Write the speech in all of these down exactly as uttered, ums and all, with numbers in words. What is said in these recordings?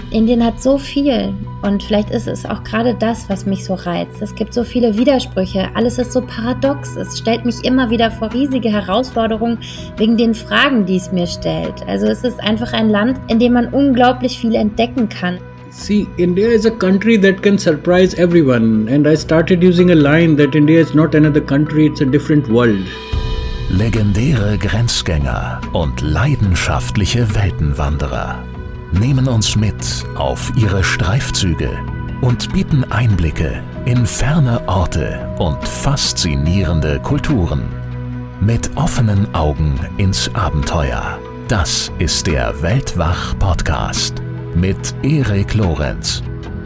Indien hat so viel und vielleicht ist es auch gerade das, was mich so reizt. Es gibt so viele Widersprüche, alles ist so paradox. Es stellt mich immer wieder vor riesige Herausforderungen wegen den Fragen, die es mir stellt. Also es ist einfach ein Land, in dem man unglaublich viel entdecken kann. See, India is a country that can surprise everyone, and I started using a line that India is not another country, it's a different world. Legendäre Grenzgänger und leidenschaftliche Weltenwanderer nehmen uns mit auf ihre Streifzüge und bieten Einblicke in ferne Orte und faszinierende Kulturen. Mit offenen Augen ins Abenteuer. Das ist der Weltwach-Podcast mit Erik Lorenz.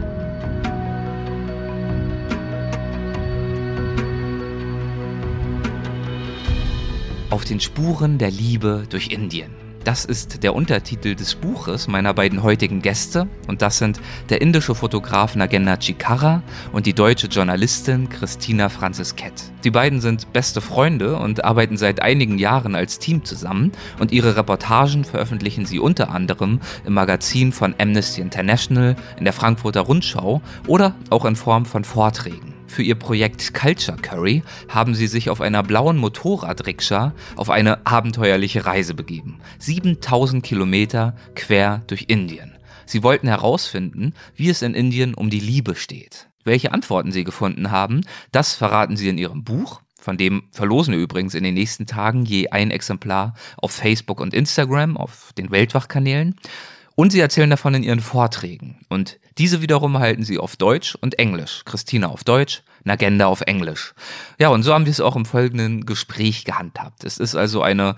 Auf den Spuren der Liebe durch Indien. Das ist der Untertitel des Buches meiner beiden heutigen Gäste und das sind der indische Fotograf Nagenda Chikkara und die deutsche Journalistin Christina Franziskett. Die beiden sind beste Freunde und arbeiten seit einigen Jahren als Team zusammen und ihre Reportagen veröffentlichen sie unter anderem im Magazin von Amnesty International, in der Frankfurter Rundschau oder auch in Form von Vorträgen. Für ihr Projekt Culture Curry haben sie sich auf einer blauen Motorradrikscha auf eine abenteuerliche Reise begeben. siebentausend Kilometer quer durch Indien. Sie wollten herausfinden, wie es in Indien um die Liebe steht. Welche Antworten sie gefunden haben, das verraten sie in ihrem Buch. Von dem verlosen wir übrigens in den nächsten Tagen je ein Exemplar auf Facebook und Instagram, auf den Weltwach-Kanälen. Und sie erzählen davon in ihren Vorträgen. Und diese wiederum halten sie auf Deutsch und Englisch. Christina auf Deutsch, Nagenda auf Englisch. Ja, und so haben wir es auch im folgenden Gespräch gehandhabt. Es ist also eine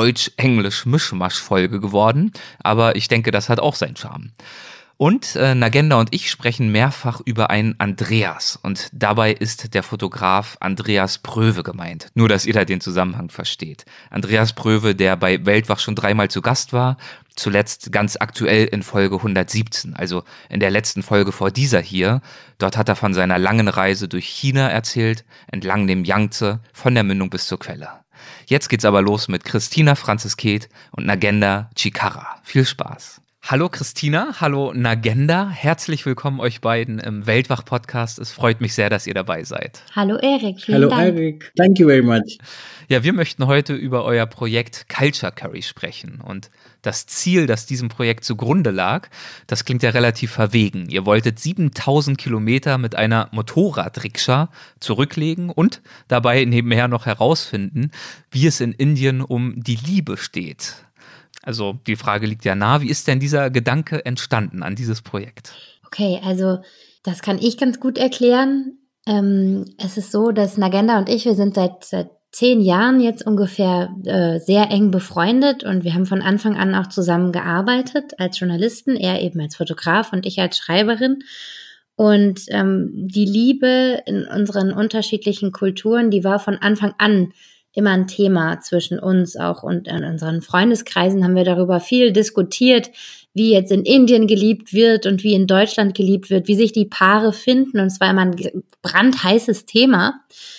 Deutsch-Englisch-Mischmasch-Folge geworden. Aber ich denke, das hat auch seinen Charme. Und äh, Nagenda und ich sprechen mehrfach über einen Andreas und dabei ist der Fotograf Andreas Pröwe gemeint. Nur, dass ihr da den Zusammenhang versteht. Andreas Pröwe, der bei Weltwach schon dreimal zu Gast war, zuletzt ganz aktuell in Folge hundertsiebzehn, also in der letzten Folge vor dieser hier. Dort hat er von seiner langen Reise durch China erzählt, entlang dem Yangtze, von der Mündung bis zur Quelle. Jetzt geht's aber los mit Christina Franziskett und Nagenda Chikkara. Viel Spaß! Hallo Christina, hallo Nagenda, herzlich willkommen euch beiden im Weltwach-Podcast. Es freut mich sehr, dass ihr dabei seid. Hallo Erik, vielen Hello Dank. Erik, thank you very much. Ja, wir möchten heute über euer Projekt Culture Curry sprechen und das Ziel, das diesem Projekt zugrunde lag, das klingt ja relativ verwegen. Ihr wolltet siebentausend Kilometer mit einer Motorradrikscha zurücklegen und dabei nebenher noch herausfinden, wie es in Indien um die Liebe steht. Also die Frage liegt ja nahe, wie ist denn dieser Gedanke entstanden an dieses Projekt? Okay, also das kann ich ganz gut erklären. Ähm, es ist so, dass Nagenda und ich, wir sind seit, seit zehn Jahren jetzt ungefähr äh, sehr eng befreundet und wir haben von Anfang an auch zusammen gearbeitet als Journalisten, er eben als Fotograf und ich als Schreiberin. Und ähm, die Liebe in unseren unterschiedlichen Kulturen, die war von Anfang an immer ein Thema zwischen uns auch und in unseren Freundeskreisen haben wir darüber viel diskutiert, wie jetzt in Indien geliebt wird und wie in Deutschland geliebt wird, wie sich die Paare finden und es war immer ein brandheißes Thema.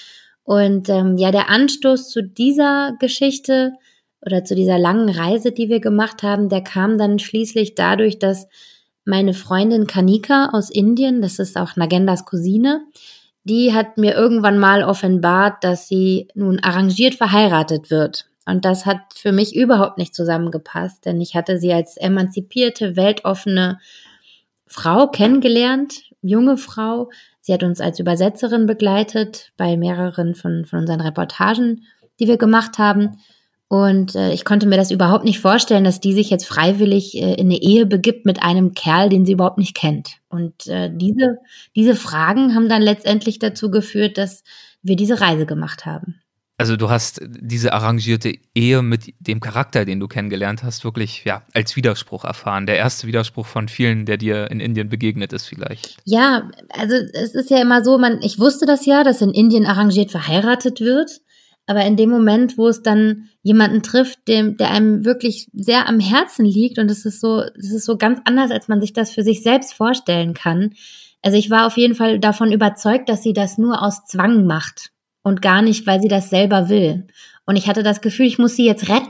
Und ähm, ja, der Anstoß zu dieser Geschichte oder zu dieser langen Reise, die wir gemacht haben, der kam dann schließlich dadurch, dass meine Freundin Kanika aus Indien, das ist auch Nagendas Cousine, die hat mir irgendwann mal offenbart, dass sie nun arrangiert verheiratet wird. Und das hat für mich überhaupt nicht zusammengepasst, denn ich hatte sie als emanzipierte, weltoffene Frau kennengelernt, junge Frau. Sie hat uns als Übersetzerin begleitet bei mehreren von, von unseren Reportagen, die wir gemacht haben. Und äh, ich konnte mir das überhaupt nicht vorstellen, dass die sich jetzt freiwillig äh, in eine Ehe begibt mit einem Kerl, den sie überhaupt nicht kennt. Und äh, diese, diese Fragen haben dann letztendlich dazu geführt, dass wir diese Reise gemacht haben. Also du hast diese arrangierte Ehe mit dem Charakter, den du kennengelernt hast, wirklich ja als Widerspruch erfahren. Der erste Widerspruch von vielen, der dir in Indien begegnet ist vielleicht. Ja, also es ist ja immer so, man, ich wusste das ja, dass in Indien arrangiert verheiratet wird. Aber in dem Moment, wo es dann jemanden trifft, dem, der einem wirklich sehr am Herzen liegt und es ist so, es ist so ganz anders, als man sich das für sich selbst vorstellen kann. Also ich war auf jeden Fall davon überzeugt, dass sie das nur aus Zwang macht und gar nicht, weil sie das selber will. Und ich hatte das Gefühl, ich muss sie jetzt retten.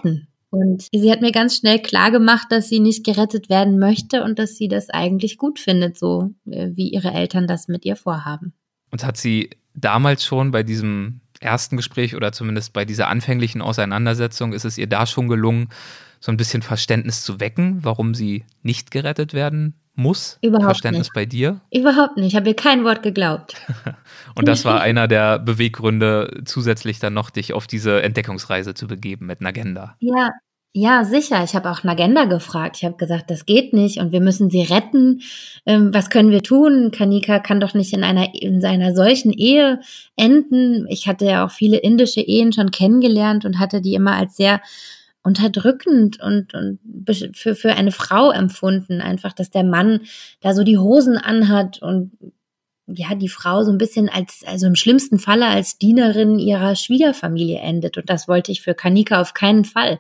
Und sie hat mir ganz schnell klar gemacht, dass sie nicht gerettet werden möchte und dass sie das eigentlich gut findet, so wie ihre Eltern das mit ihr vorhaben. Und hat sie damals schon bei diesem ersten Gespräch oder zumindest bei dieser anfänglichen Auseinandersetzung, ist es ihr da schon gelungen, so ein bisschen Verständnis zu wecken, warum sie nicht gerettet werden muss? Überhaupt Verständnis nicht. bei dir? Überhaupt nicht. Ich habe ihr kein Wort geglaubt. Und das war einer der Beweggründe, zusätzlich dann noch dich auf diese Entdeckungsreise zu begeben mit Nagenda. Ja, ja, sicher. Ich habe auch Nagenda gefragt. Ich habe gesagt, das geht nicht und wir müssen sie retten. Ähm, was können wir tun? Kanika kann doch nicht in einer in einer solchen Ehe enden. Ich hatte ja auch viele indische Ehen schon kennengelernt und hatte die immer als sehr unterdrückend und, und für, für eine Frau empfunden. Einfach, dass der Mann da so die Hosen anhat und ja, die Frau so ein bisschen als, also im schlimmsten Falle als Dienerin ihrer Schwiegerfamilie endet. Und das wollte ich für Kanika auf keinen Fall.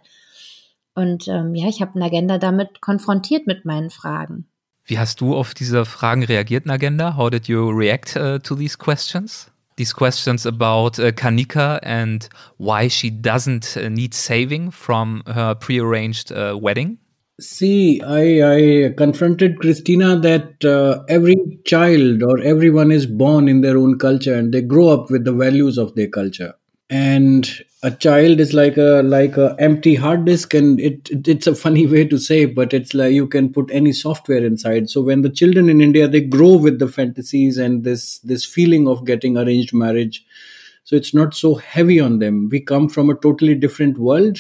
Und ähm, ja, ich habe Nagenda damit konfrontiert mit meinen Fragen. Wie hast du auf diese Fragen reagiert, Nagenda? How did you react uh, to these questions? These questions about uh, Kanika and why she doesn't uh, need saving from her prearranged uh, wedding? See, I, I confronted Christina that uh, every child or everyone is born in their own culture and they grow up with the values of their culture. And a child is like a like a empty hard disk, and it, it it's a funny way to say, but it's like you can put any software inside. So when the children in India, they grow with the fantasies and this this feeling of getting arranged marriage, so it's not so heavy on them. We come from a totally different world,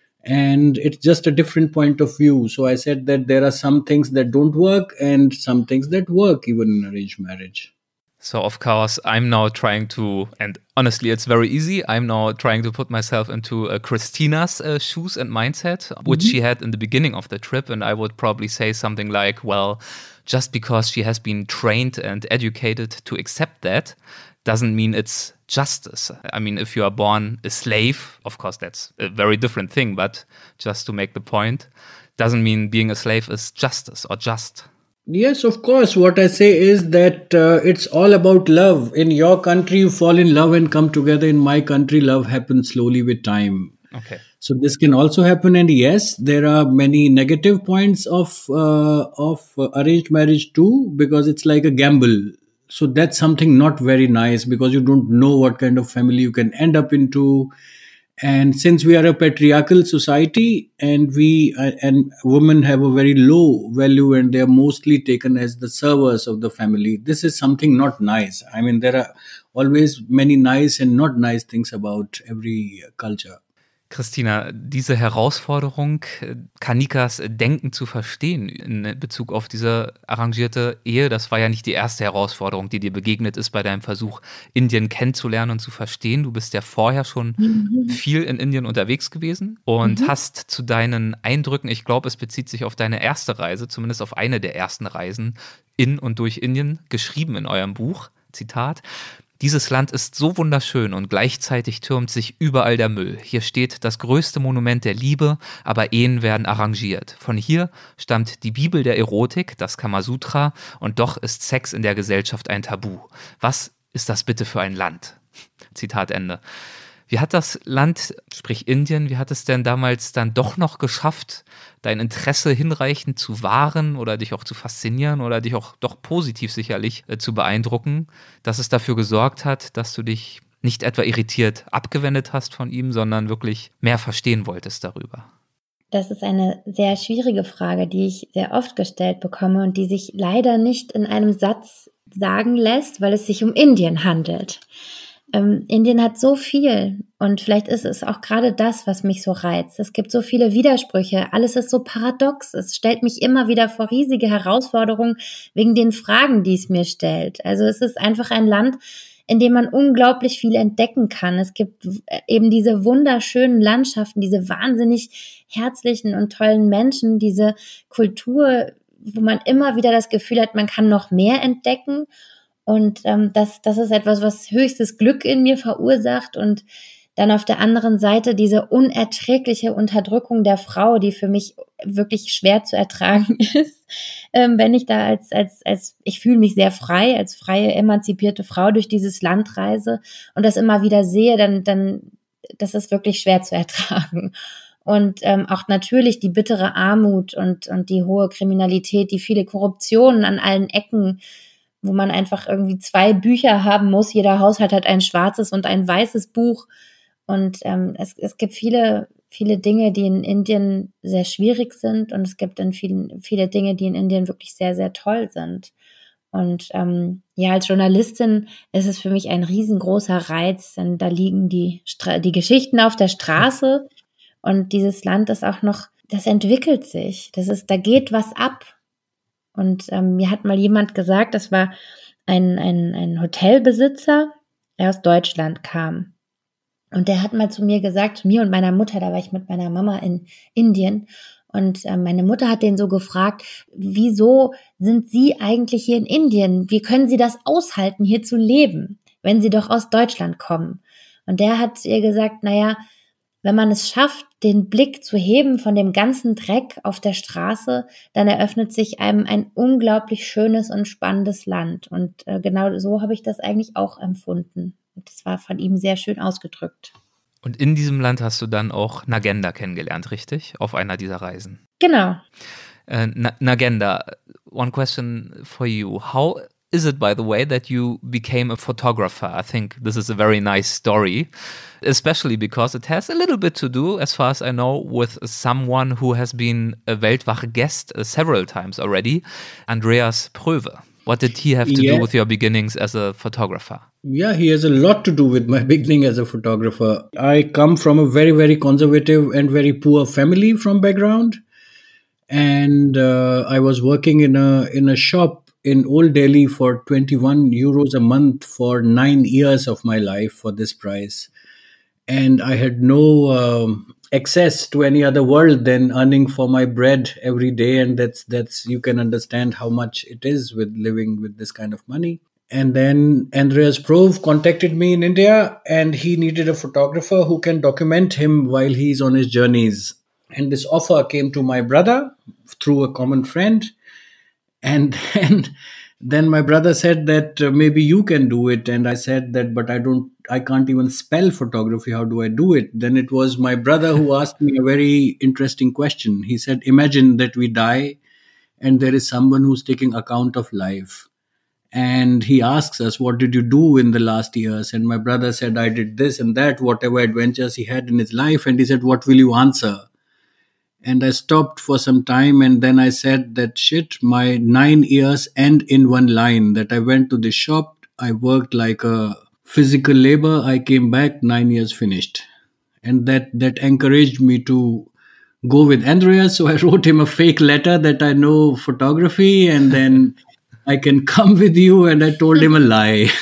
and it's just a different point of view. So I said that there are some things that don't work and some things that work even in arranged marriage. So, of course, I'm now trying to, and honestly, it's very easy. I'm now trying to put myself into uh, Christina's uh, shoes and mindset, which mm-hmm. she had in the beginning of the trip. And I would probably say something like, well, just because she has been trained and educated to accept that doesn't mean it's justice. I mean, if you are born a slave, of course, that's a very different thing. But just to make the point, doesn't mean being a slave is justice or just. Yes, of course. What I say is that uh, it's all about love. In your country, you fall in love and come together. In my country, love happens slowly with time. Okay. So this can also happen. And yes, there are many negative points of uh, of uh, arranged marriage too, because it's like a gamble. So that's something not very nice because you don't know what kind of family you can end up into. And since we are a patriarchal society and we uh, and women have a very low value and they are mostly taken as the servers of the family, this is something not nice. I mean, there are always many nice and not nice things about every culture. Christina, diese Herausforderung, Kanikas Denken zu verstehen in Bezug auf diese arrangierte Ehe, das war ja nicht die erste Herausforderung, die dir begegnet ist bei deinem Versuch, Indien kennenzulernen und zu verstehen. Du bist ja vorher schon mhm. viel in Indien unterwegs gewesen und mhm. hast zu deinen Eindrücken, ich glaube, es bezieht sich auf deine erste Reise, zumindest auf eine der ersten Reisen in und durch Indien, geschrieben in eurem Buch, Zitat: Dieses Land ist so wunderschön und gleichzeitig türmt sich überall der Müll. Hier steht das größte Monument der Liebe, aber Ehen werden arrangiert. Von hier stammt die Bibel der Erotik, das Kamasutra, und doch ist Sex in der Gesellschaft ein Tabu. Was ist das bitte für ein Land? Zitat Ende. Wie hat das Land, sprich Indien, wie hat es denn damals dann doch noch geschafft, dein Interesse hinreichend zu wahren oder dich auch zu faszinieren oder dich auch doch positiv sicherlich äh, zu beeindrucken, dass es dafür gesorgt hat, dass du dich nicht etwa irritiert abgewendet hast von ihm, sondern wirklich mehr verstehen wolltest darüber? Das ist eine sehr schwierige Frage, die ich sehr oft gestellt bekomme und die sich leider nicht in einem Satz sagen lässt, weil es sich um Indien handelt. Ähm, Indien hat so viel und vielleicht ist es auch gerade das, was mich so reizt. Es gibt so viele Widersprüche, alles ist so paradox. Es stellt mich immer wieder vor riesige Herausforderungen wegen den Fragen, die es mir stellt. Also es ist einfach ein Land, in dem man unglaublich viel entdecken kann. Es gibt eben diese wunderschönen Landschaften, diese wahnsinnig herzlichen und tollen Menschen, diese Kultur, wo man immer wieder das Gefühl hat, man kann noch mehr entdecken. Und ähm, das, das ist etwas, was höchstes Glück in mir verursacht. Und dann auf der anderen Seite diese unerträgliche Unterdrückung der Frau, die für mich wirklich schwer zu ertragen ist. Ähm, wenn ich da als, als, als, ich fühle mich sehr frei, als freie, emanzipierte Frau durch dieses Land reise und das immer wieder sehe, dann, dann, das ist wirklich schwer zu ertragen. Und ähm, auch natürlich die bittere Armut und, und die hohe Kriminalität, die viele Korruptionen an allen Ecken, wo man einfach irgendwie zwei Bücher haben muss. Jeder Haushalt hat ein schwarzes und ein weißes Buch. Und ähm, es, es gibt viele, viele Dinge, die in Indien sehr schwierig sind. Und es gibt dann vielen, viele Dinge, die in Indien wirklich sehr, sehr toll sind. Und ähm, ja, als Journalistin ist es für mich ein riesengroßer Reiz, denn da liegen die, Stra- die Geschichten auf der Straße und dieses Land ist auch noch, das entwickelt sich, das ist, da geht was ab. Und ähm, mir hat mal jemand gesagt, das war ein, ein, ein Hotelbesitzer, der aus Deutschland kam. Und der hat mal zu mir gesagt, zu mir und meiner Mutter, da war ich mit meiner Mama in Indien. Und äh, meine Mutter hat den so gefragt, wieso sind Sie eigentlich hier in Indien? Wie können Sie das aushalten, hier zu leben, wenn Sie doch aus Deutschland kommen? Und der hat ihr gesagt, naja, wenn man es schafft, den Blick zu heben von dem ganzen Dreck auf der Straße, dann eröffnet sich einem ein unglaublich schönes und spannendes Land. Und äh, genau so habe ich das eigentlich auch empfunden. Und das war von ihm sehr schön ausgedrückt. Und in diesem Land hast du dann auch Nagenda kennengelernt, richtig? Auf einer dieser Reisen. Genau. Uh, Na- Nagenda, one question for you. How is it, by the way, that you became a photographer? I think this is a very nice story, especially because it has a little bit to do, as far as I know, with someone who has been a Weltwache guest uh, several times already, Andreas Pröwe. What did he have to Yeah. do with your beginnings as a photographer? Yeah, he has a lot to do with my beginning as a photographer. I come from a very, very conservative and very poor family from background. And uh, I was working in a in a shop in Old Delhi for twenty-one euros a month for nine years of my life for this price. And I had no um, access to any other world than earning for my bread every day. And that's, that's, you can understand how much it is with living with this kind of money. And then Andreas Pröwe contacted me in India and he needed a photographer who can document him while he's on his journeys. And this offer came to my brother through a common friend. And then, then my brother said that uh, maybe you can do it. And I said that, but I don't, I can't even spell photography. How do I do it? Then it was my brother who asked me a very interesting question. He said, imagine that we die and there is someone who's taking account of life. And he asks us, what did you do in the last years? And my brother said, I did this and that, whatever adventures he had in his life. And he said, what will you answer? And I stopped for some time and then I said that shit, my nine years end in one line, that I went to the shop, I worked like a physical labor, I came back, nine years finished. And that, that encouraged me to go with Andreas. So I wrote him a fake letter that I know photography and then I can come with you. And I told him a lie.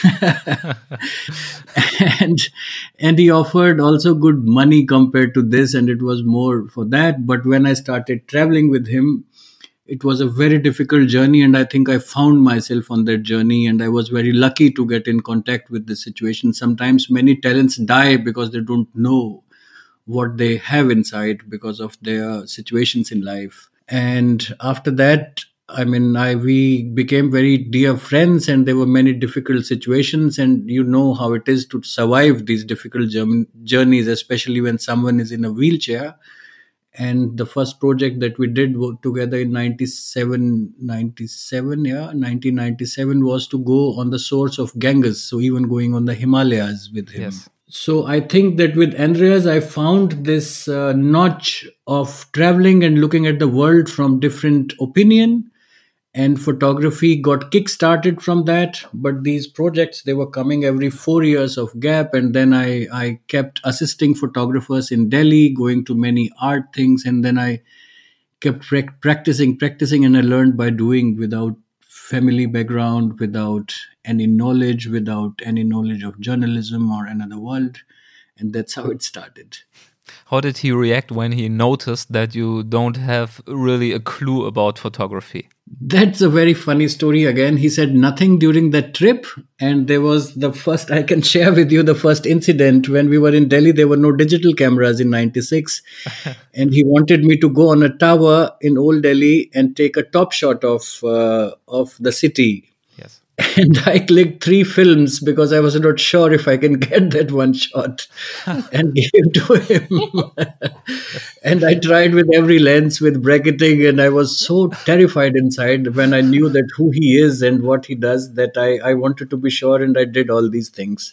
and and he offered also good money compared to this. And it was more for that. But when I started traveling with him, it was a very difficult journey. And I think I found myself on that journey. And I was very lucky to get in contact with this situation. Sometimes many talents die because they don't know what they have inside because of their situations in life. And after that, I mean, I we became very dear friends and there were many difficult situations and you know how it is to survive these difficult journeys, especially when someone is in a wheelchair. And the first project that we did together in ninety-seven, ninety-seven, yeah, nineteen ninety-seven was to go on the source of Ganges. So even going on the Himalayas with him. Yes. So I think that with Andreas, I found this uh, notch of traveling and looking at the world from different opinion. And photography got kick-started from that. But these projects, they were coming every four years of gap. And then I, I kept assisting photographers in Delhi, going to many art things. And then I kept pra- practicing, practicing. And I learned by doing without family background, without any knowledge, without any knowledge of journalism or another world. And that's how it started. How did he react when he noticed that you don't have really a clue about photography? That's a very funny story again. He said nothing during that trip. And there was the first, I can share with you the first incident. When we were in Delhi, there were no digital cameras in ninety-six. And he wanted me to go on a tower in Old Delhi and take a top shot of, uh, of the city. Yes. And I clicked three films because I was not sure if I can get that one shot and gave to him. And I tried with every lens, with bracketing, and I was so terrified inside when I knew that who he is and what he does, that I, I wanted to be sure, and I did all these things.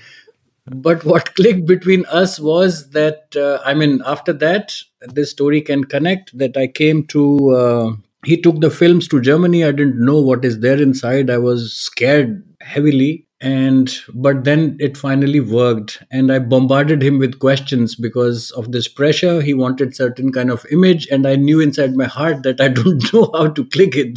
But what clicked between us was that, uh, I mean, after that, this story can connect that I came to, uh, he took the films to Germany. I didn't know what is there inside. I was scared heavily. And, but then it finally worked. And I bombarded him with questions because of this pressure. He wanted certain kind of image. And I knew inside my heart that I don't know how to click it.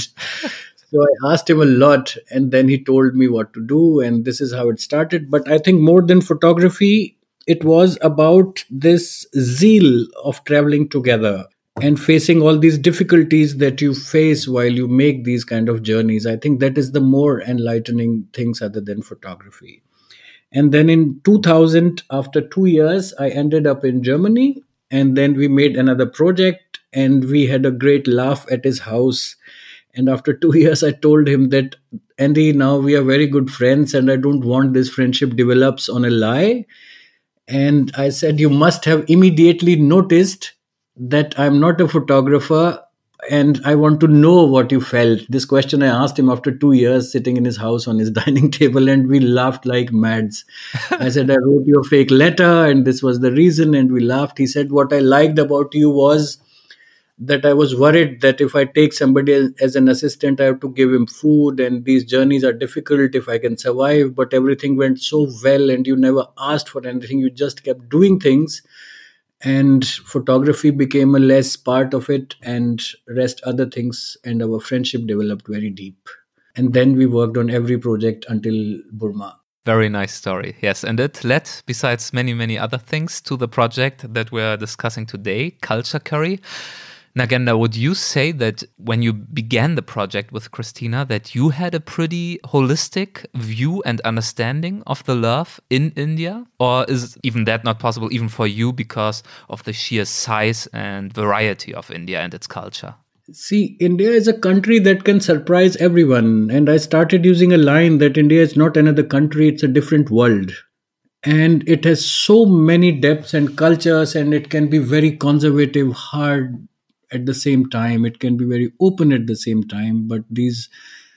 So I asked him a lot, and then he told me what to do, and this is how it started. But I think more than photography, it was about this zeal of traveling together and facing all these difficulties that you face while you make these kind of journeys. I think that is the more enlightening things other than photography. And then in two thousand, after two years, I ended up in Germany, and then we made another project, and we had a great laugh at his house. And after two years, I told him that, Andy, now we are very good friends, and I don't want this friendship develops on a lie. And I said, you must have immediately noticed that I'm not a photographer, and I want to know what you felt. This question I asked him after two years sitting in his house on his dining table, and we laughed like mads. I said, I wrote you a fake letter, and this was the reason, and we laughed. He said, what I liked about you was that I was worried that if I take somebody as, as an assistant, I have to give him food, and these journeys are difficult if I can survive. But everything went so well, and you never asked for anything. You just kept doing things, and photography became a less part of it, and rest other things, and our friendship developed very deep. And then we worked on every project until Burma. Very nice story. Yes, and it led, besides many, many other things, to the project that we're discussing today, Culture Curry. Nagenda, would you say that when you began the project with Christina, that you had a pretty holistic view and understanding of the love in India? Or is even that not possible even for you because of the sheer size and variety of India and its culture? See, India is a country that can surprise everyone. And I started using a line that India is not another country, it's a different world. And it has so many depths and cultures, and it can be very conservative, hard, at the same time. It can be very open at the same time. But these,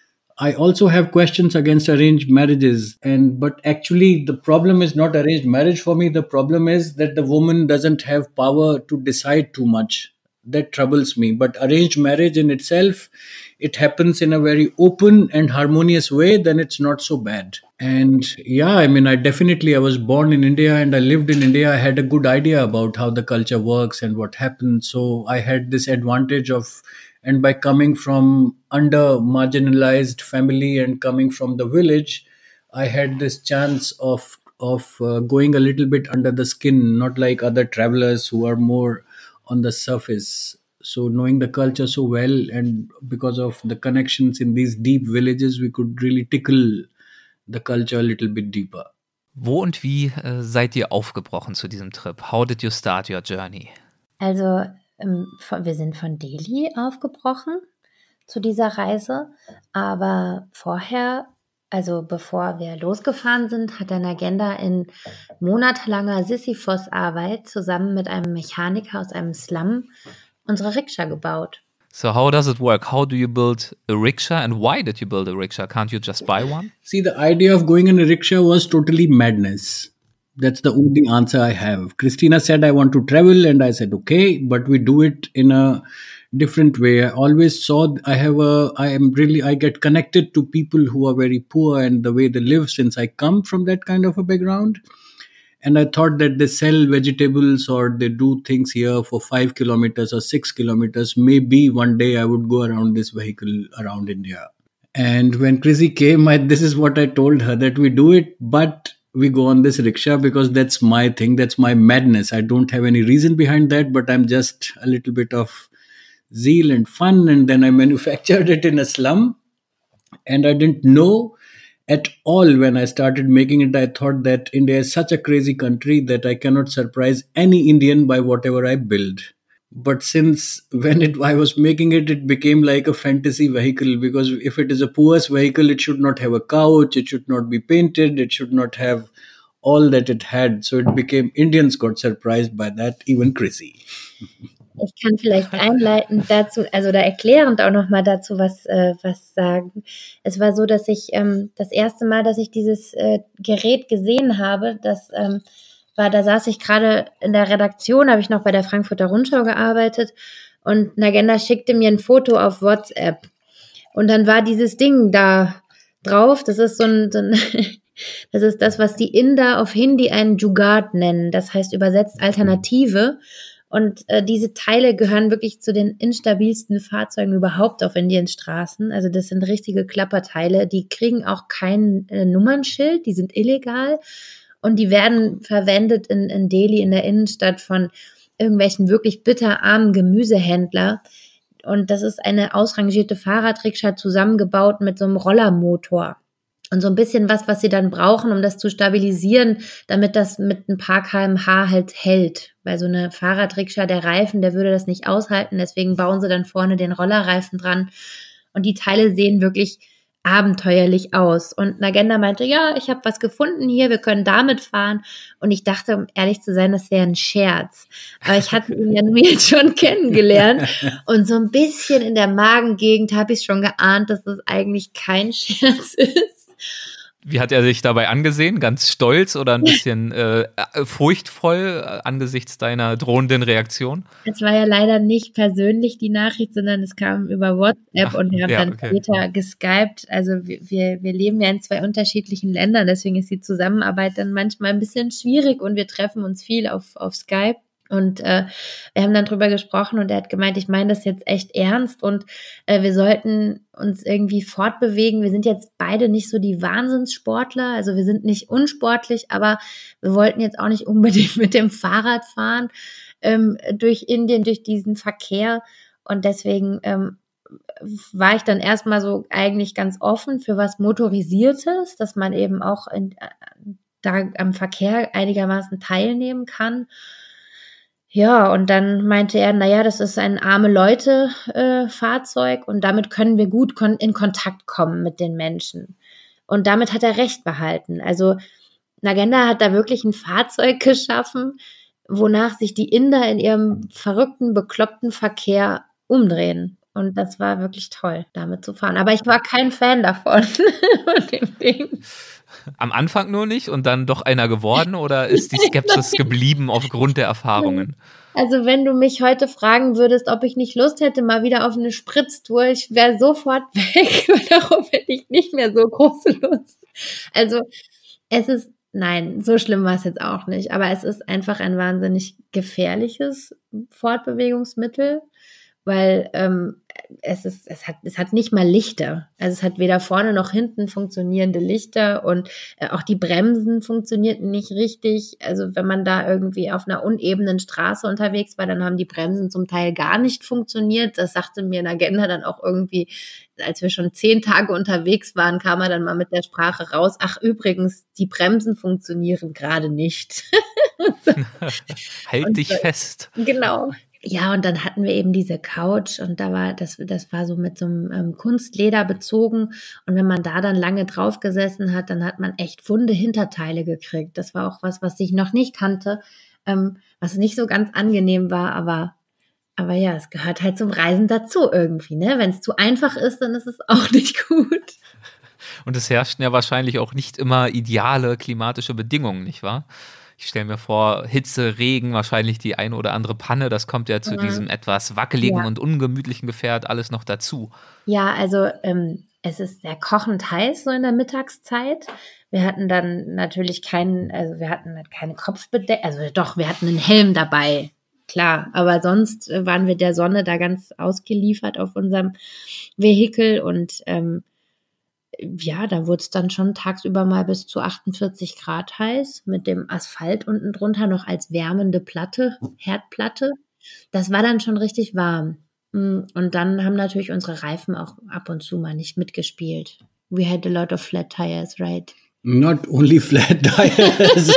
I also have questions against arranged marriages. And but actually the problem is not arranged marriage for me. The problem is that the woman doesn't have power to decide too much. That troubles me. But arranged marriage in itself, it happens in a very open and harmonious way, then it's not so bad. And yeah, I mean, I definitely, I was born in India and I lived in India. I had a good idea about how the culture works and what happens. So I had this advantage of, and by coming from under marginalized family and coming from the village, I had this chance of of uh, going a little bit under the skin, not like other travelers who are more on the surface. So knowing the culture so well, and because of the connections in these deep villages, we could really tickle the culture a little bit deeper. Wo und wie äh, seid ihr aufgebrochen zu diesem Trip? How did you start your journey? Also ähm, von, wir sind von Delhi aufgebrochen zu dieser Reise, aber vorher, also bevor wir losgefahren sind, hat der Nagenda in monatelanger Sisyphos-Arbeit zusammen mit einem Mechaniker aus einem Slum unsere Rikscha gebaut. So how does it work? How do you build a rickshaw, and why did you build a rickshaw? Can't you just buy one? See, the idea of going in a rickshaw was totally madness. That's the only answer I have. Christina said, I want to travel, and I said, okay, but we do it in a different way. I always saw, I have a, I am really, I get connected to people who are very poor and the way they live, since I come from that kind of a background. And I thought that they sell vegetables or they do things here for five kilometers or six kilometers. Maybe one day I would go around this vehicle around India. And when Chrissy came, I, this is what I told her, that we do it, but we go on this rickshaw because that's my thing. That's my madness. I don't have any reason behind that, but I'm just a little bit of zeal and fun. And then I manufactured it in a slum. And I didn't know at all when I started making it. I thought that India is such a crazy country that I cannot surprise any Indian by whatever I build. But since when it, I was making it, it became like a fantasy vehicle, because if it is a poor's vehicle, it should not have a couch, it should not be painted, it should not have all that it had. So it became, Indians got surprised by that, even Chrissy. Ich kann vielleicht einleitend dazu, also da erklärend auch nochmal dazu was, äh, was sagen. Es war so, dass ich ähm, das erste Mal, dass ich dieses äh, Gerät gesehen habe, das ähm, war, da saß ich gerade in der Redaktion, habe ich noch bei der Frankfurter Rundschau gearbeitet und Nagenda schickte mir ein Foto auf WhatsApp und dann war dieses Ding da drauf, das ist so ein, so ein das ist das, was die Inder auf Hindi einen Jugaad nennen, das heißt übersetzt Alternative. Und äh, diese Teile gehören wirklich zu den instabilsten Fahrzeugen überhaupt auf Indiens Straßen. Also das sind richtige Klapperteile. Die kriegen auch kein äh, Nummernschild, die sind illegal. Und die werden verwendet in, in Delhi, in der Innenstadt von irgendwelchen wirklich bitterarmen Gemüsehändler. Und das ist eine ausrangierte Fahrradrikscha zusammengebaut mit so einem Rollermotor. Und so ein bisschen was, was sie dann brauchen, um das zu stabilisieren, damit das mit ein paar Kilometer pro Stunde halt hält. Weil so eine Fahrradrikscha, der Reifen, der würde das nicht aushalten. Deswegen bauen sie dann vorne den Rollerreifen dran. Und die Teile sehen wirklich abenteuerlich aus. Und Nagenda meinte, ja, ich habe was gefunden hier, wir können damit fahren. Und ich dachte, um ehrlich zu sein, das wäre ein Scherz. Aber ich hatte ihn ja nur jetzt schon kennengelernt. Und so ein bisschen in der Magengegend habe ich schon geahnt, dass das eigentlich kein Scherz ist. Wie hat er sich dabei angesehen? Ganz stolz oder ein bisschen äh, furchtvoll äh, angesichts deiner drohenden Reaktion? Es war ja leider nicht persönlich die Nachricht, sondern es kam über WhatsApp. Ach, und wir haben ja, dann okay. später geskypt. Also wir, wir leben ja in zwei unterschiedlichen Ländern, deswegen ist die Zusammenarbeit dann manchmal ein bisschen schwierig und wir treffen uns viel auf, auf Skype. Und äh, wir haben dann drüber gesprochen und er hat gemeint, ich meine das jetzt echt ernst und äh, wir sollten uns irgendwie fortbewegen. Wir sind jetzt beide nicht so die Wahnsinnssportler, also wir sind nicht unsportlich, aber wir wollten jetzt auch nicht unbedingt mit dem Fahrrad fahren ähm, durch Indien, durch diesen Verkehr. Und deswegen ähm, war ich dann erstmal so eigentlich ganz offen für was Motorisiertes, dass man eben auch in, da am Verkehr einigermaßen teilnehmen kann. Ja, und dann meinte er, naja, das ist ein Arme-Leute-Fahrzeug äh, und damit können wir gut kon- in Kontakt kommen mit den Menschen. Und damit hat er recht behalten. Also Nagenda hat da wirklich ein Fahrzeug geschaffen, wonach sich die Inder in ihrem verrückten, bekloppten Verkehr umdrehen. Und das war wirklich toll, damit zu fahren. Aber ich war kein Fan davon, von dem Ding. Am Anfang nur nicht und dann doch einer geworden oder ist die Skepsis geblieben aufgrund der Erfahrungen? Also wenn du mich heute fragen würdest, ob ich nicht Lust hätte, mal wieder auf eine Spritztour, ich wäre sofort weg, weil darauf hätte ich nicht mehr so große Lust. Also es ist, nein, so schlimm war es jetzt auch nicht, aber es ist einfach ein wahnsinnig gefährliches Fortbewegungsmittel, weil ähm, es ist, es hat, es hat nicht mal Lichter. Also es hat weder vorne noch hinten funktionierende Lichter und äh, auch die Bremsen funktionierten nicht richtig. Also wenn man da irgendwie auf einer unebenen Straße unterwegs war, dann haben die Bremsen zum Teil gar nicht funktioniert. Das sagte mir Nagenda dann auch irgendwie, als wir schon zehn Tage unterwegs waren, kam er dann mal mit der Sprache raus. Ach übrigens, die Bremsen funktionieren gerade nicht. Halt und, dich fest. Genau. Ja, und dann hatten wir eben diese Couch und da war das, das war so mit so einem ähm, Kunstleder bezogen und wenn man da dann lange drauf gesessen hat, dann hat man echt wunde Hinterteile gekriegt. Das war auch was, was ich noch nicht kannte, ähm, was nicht so ganz angenehm war, aber aber ja, es gehört halt zum Reisen dazu irgendwie, ne? Wenn es zu einfach ist, dann ist es auch nicht gut. Und es herrschten ja wahrscheinlich auch nicht immer ideale klimatische Bedingungen, nicht wahr? Ich stelle mir vor, Hitze, Regen, wahrscheinlich die eine oder andere Panne, das kommt ja zu mhm. diesem etwas wackeligen ja. und ungemütlichen Gefährt alles noch dazu. Ja, also ähm, es ist sehr kochend heiß so in der Mittagszeit. Wir hatten dann natürlich keinen, also wir hatten keine Kopfbedeckung, also doch, wir hatten einen Helm dabei, klar. Aber sonst waren wir der Sonne da ganz ausgeliefert auf unserem Vehikel und ähm, ja, da wurde es dann schon tagsüber mal bis zu achtundvierzig Grad heiß, mit dem Asphalt unten drunter noch als wärmende Platte, Herdplatte. Das war dann schon richtig warm. Und dann haben natürlich unsere Reifen auch ab und zu mal nicht mitgespielt. We had a lot of flat tires, right? Not only flat tires.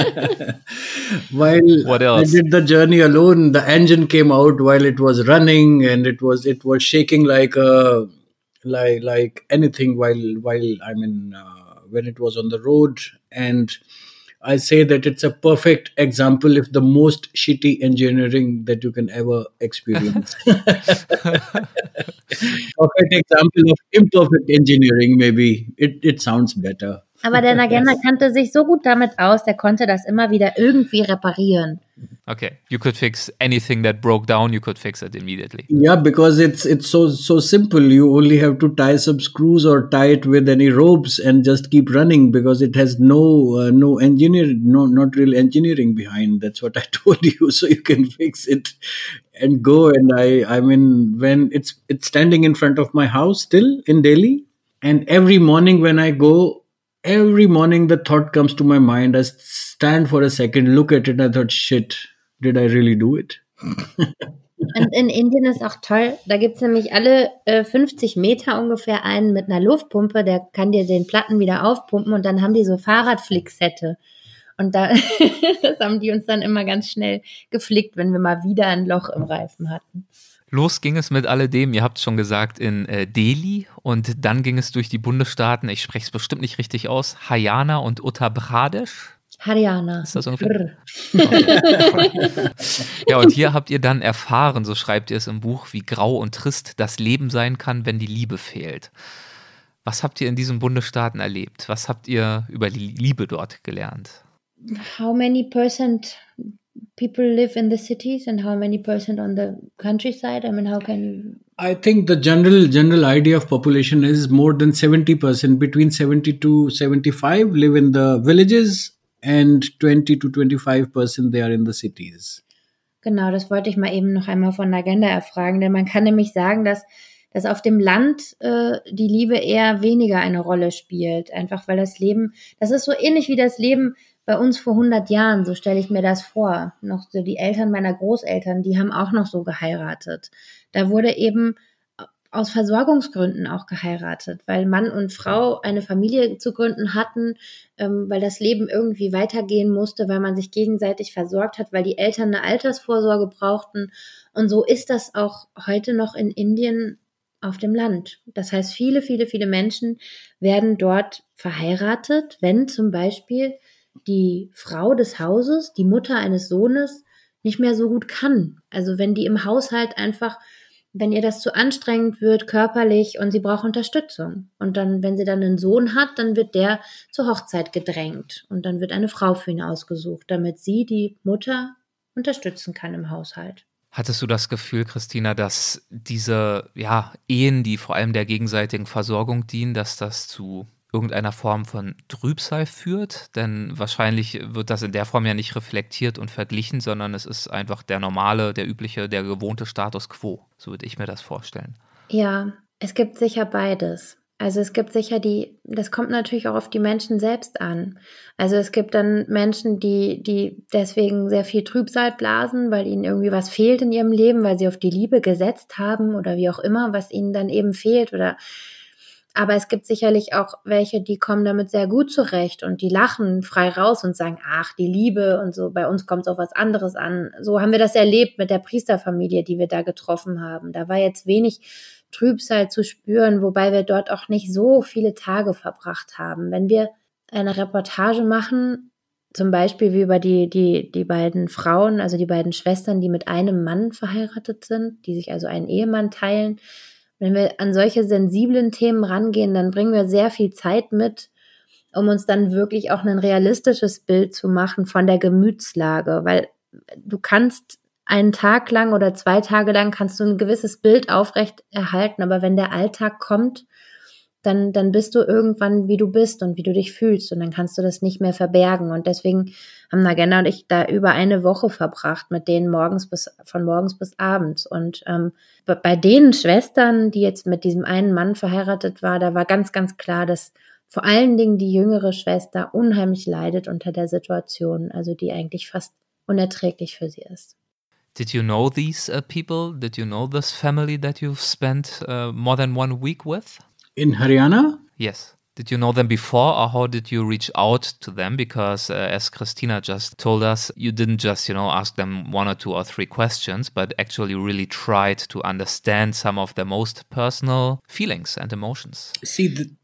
While What else? I did the journey alone, the engine came out while it was running and it was it was shaking like a like like anything while while I mean uh, when it was on the road, and I say that it's a perfect example of the most shitty engineering that you can ever experience. Perfect example of imperfect engineering, maybe. It, it sounds better. Aber der Nagenda kannte sich so gut damit aus, der konnte das immer wieder irgendwie reparieren. Okay, you could fix anything that broke down, you could fix it immediately. Yeah, because it's it's so so simple. You only have to tie some screws or tie it with any ropes and just keep running because it has no uh, no engineer, no not real engineering behind. That's what I told you. So you can fix it and go. And I I mean when it's it's standing in front of my house still in Delhi, and every morning when I go, every morning the thought comes to my mind. I stand for a second, look at it, and I thought, shit. Did I really do it? Und in Indien ist auch toll, da gibt es nämlich alle äh, fünfzig Meter ungefähr einen mit einer Luftpumpe, der kann dir den Platten wieder aufpumpen und dann haben die so Fahrradflicksette. Und da das haben die uns dann immer ganz schnell geflickt, wenn wir mal wieder ein Loch im Reifen hatten. Los ging es mit alledem, ihr habt es schon gesagt, in äh, Delhi und dann ging es durch die Bundesstaaten, ich spreche es bestimmt nicht richtig aus, Haryana und Uttar Pradesh. Haryana. Ist das ungefähr? Ja, und hier habt ihr dann erfahren, so schreibt ihr es im Buch, wie grau und trist das Leben sein kann, wenn die Liebe fehlt. Was habt ihr in diesen Bundesstaaten erlebt? Was habt ihr über die Liebe dort gelernt? How many percent people live in the cities and how many percent on the countryside? I mean, how can you... I think the general general idea of population is more than seventy percent, between seventy to seventy-five live in the villages. And twenty to twenty-five percent they are in the cities. Genau, das wollte ich mal eben noch einmal von Nagenda erfragen, denn man kann nämlich sagen, dass, dass auf dem Land äh, die Liebe eher weniger eine Rolle spielt, einfach weil das Leben, das ist so ähnlich wie das Leben bei uns vor hundert Jahren, so stelle ich mir das vor. Noch so die Eltern meiner Großeltern, die haben auch noch so geheiratet. Da wurde eben aus Versorgungsgründen auch geheiratet, weil Mann und Frau eine Familie zu gründen hatten, ähm, weil das Leben irgendwie weitergehen musste, weil man sich gegenseitig versorgt hat, weil die Eltern eine Altersvorsorge brauchten. Und so ist das auch heute noch in Indien auf dem Land. Das heißt, viele, viele, viele Menschen werden dort verheiratet, wenn zum Beispiel die Frau des Hauses, die Mutter eines Sohnes, nicht mehr so gut kann. Also wenn die im Haushalt einfach wenn ihr das zu anstrengend wird, körperlich, und sie braucht Unterstützung. Und dann, wenn sie dann einen Sohn hat, dann wird der zur Hochzeit gedrängt. Und dann wird eine Frau für ihn ausgesucht, damit sie die Mutter unterstützen kann im Haushalt. Hattest du das Gefühl, Christina, dass diese ja, Ehen, die vor allem der gegenseitigen Versorgung dienen, dass das zu irgendeiner Form von Trübsal führt? Denn wahrscheinlich wird das in der Form ja nicht reflektiert und verglichen, sondern es ist einfach der normale, der übliche, der gewohnte Status quo. So würde ich mir das vorstellen. Ja, es gibt sicher beides. Also es gibt sicher die, das kommt natürlich auch auf die Menschen selbst an. Also es gibt dann Menschen, die, die deswegen sehr viel Trübsal blasen, weil ihnen irgendwie was fehlt in ihrem Leben, weil sie auf die Liebe gesetzt haben oder wie auch immer, was ihnen dann eben fehlt oder aber es gibt sicherlich auch welche, die kommen damit sehr gut zurecht und die lachen frei raus und sagen, ach, die Liebe und so, bei uns kommt es auf was anderes an. So haben wir das erlebt mit der Priesterfamilie, die wir da getroffen haben. Da war jetzt wenig Trübsal zu spüren, wobei wir dort auch nicht so viele Tage verbracht haben. Wenn wir eine Reportage machen, zum Beispiel wie über die, die, die beiden Frauen, also die beiden Schwestern, die mit einem Mann verheiratet sind, die sich also einen Ehemann teilen, wenn wir an solche sensiblen Themen rangehen, dann bringen wir sehr viel Zeit mit, um uns dann wirklich auch ein realistisches Bild zu machen von der Gemütslage, weil du kannst einen Tag lang oder zwei Tage lang kannst du ein gewisses Bild aufrecht erhalten, aber wenn der Alltag kommt, dann, dann bist du irgendwann, wie du bist und wie du dich fühlst und dann kannst du das nicht mehr verbergen und deswegen haben Nagenda und ich da über eine Woche verbracht mit denen morgens bis, von morgens bis abends und ähm, bei den Schwestern, die jetzt mit diesem einen Mann verheiratet war, da war ganz, ganz klar, dass vor allen Dingen die jüngere Schwester unheimlich leidet unter der Situation, also die eigentlich fast unerträglich für sie ist. Did you know these uh, people? Did you know this family that you've spent uh, more than one week with? In Haryana? Yes. Did you know them before or how did you reach out to them? Because uh, as Christina just told us, you didn't just, you know, ask them one or two or three questions, but actually really tried to understand some of their most personal feelings and emotions. See, the,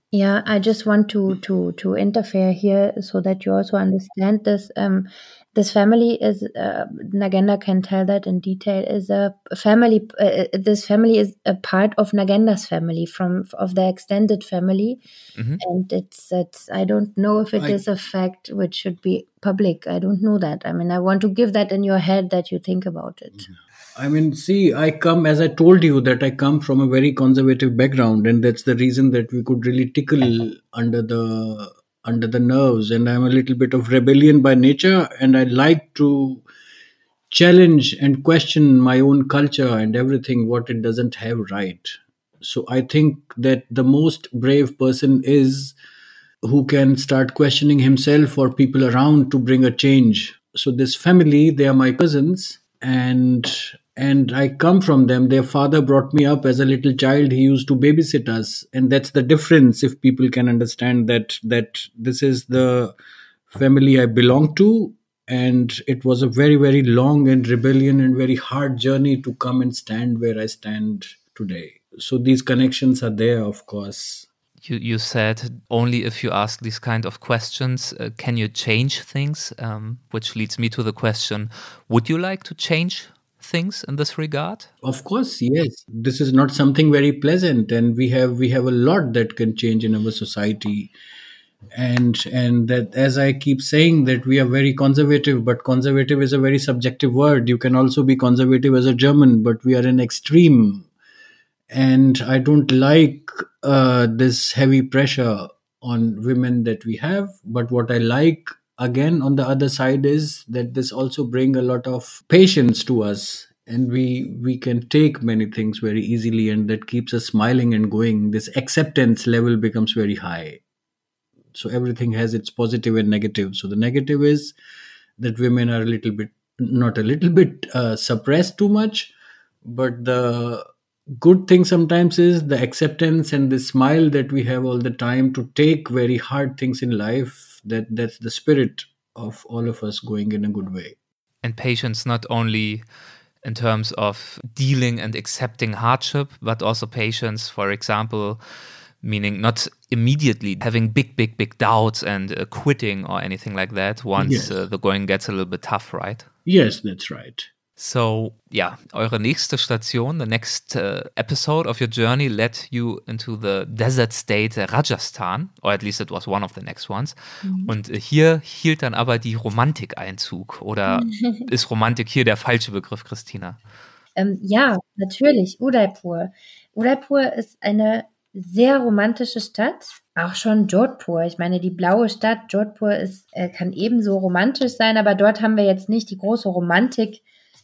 Yeah, I just want to to to interfere here so that you also understand this. Um, this family is uh, Nagenda can tell that in detail. Is a family. Uh, this family is a part of Nagenda's family from of the extended family, Mm-hmm. and it's it's. I don't know if it I- is a fact which should be public. I don't know that. I mean, I want to give that in your head that you think about it. I mean, see, I come, as I told you, that I come from a very conservative background, and that's the reason that we could really tickle under the under the nerves. And I'm a little bit of rebellion by nature, and I like to challenge and question my own culture and everything what it doesn't have right. So I think that the most brave person is who can start questioning himself or people around to bring a change. So this family, they are my cousins, and and I come from them. Their father brought me up as a little child. He used to babysit us, and that's the difference. If people can understand that that this is the family I belong to, and it was a very very long and rebellion and very hard journey to come and stand where I stand today. So these connections are there, of course. You you said only if you ask these kind of questions uh, can you change things, um, which leads me to the question: would you like to change things in this regard? Of course, yes. This is not something very pleasant, and we have we have a lot that can change in our society. And and that, as I keep saying, that we are very conservative, but conservative is a very subjective word. You can also be conservative as a German, but we are an extreme, and I don't like uh, this heavy pressure on women that we have. But what I like, again, on the other side, is that this also bring a lot of patience to us, and we we can take many things very easily, and that keeps us smiling and going. This acceptance level becomes very high. So everything has its positive and negative. So the negative is that women are a little bit, not a little bit, uh, suppressed too much, but the good thing sometimes is the acceptance and the smile that we have all the time to take very hard things in life. That that's the spirit of all of us going in a good way. And patience not only in terms of dealing and accepting hardship, but also patience, for example, meaning not immediately having big, big, big doubts and uh, quitting or anything like that once Yes. uh, the going gets a little bit tough, right? Yes, that's right. So, ja, eure nächste Station, the next uh, episode of your journey led you into the desert state Rajasthan, or at least it was one of the next ones. Und äh, hier hielt dann aber die Romantik Einzug. Oder ist Romantik hier der falsche Begriff, Christina? Ähm, ja, natürlich, Udaipur. Udaipur ist eine sehr romantische Stadt, auch schon Jodhpur. Ich meine, die blaue Stadt Jodhpur ist, äh, kann ebenso romantisch sein, aber dort haben wir jetzt nicht die große Romantik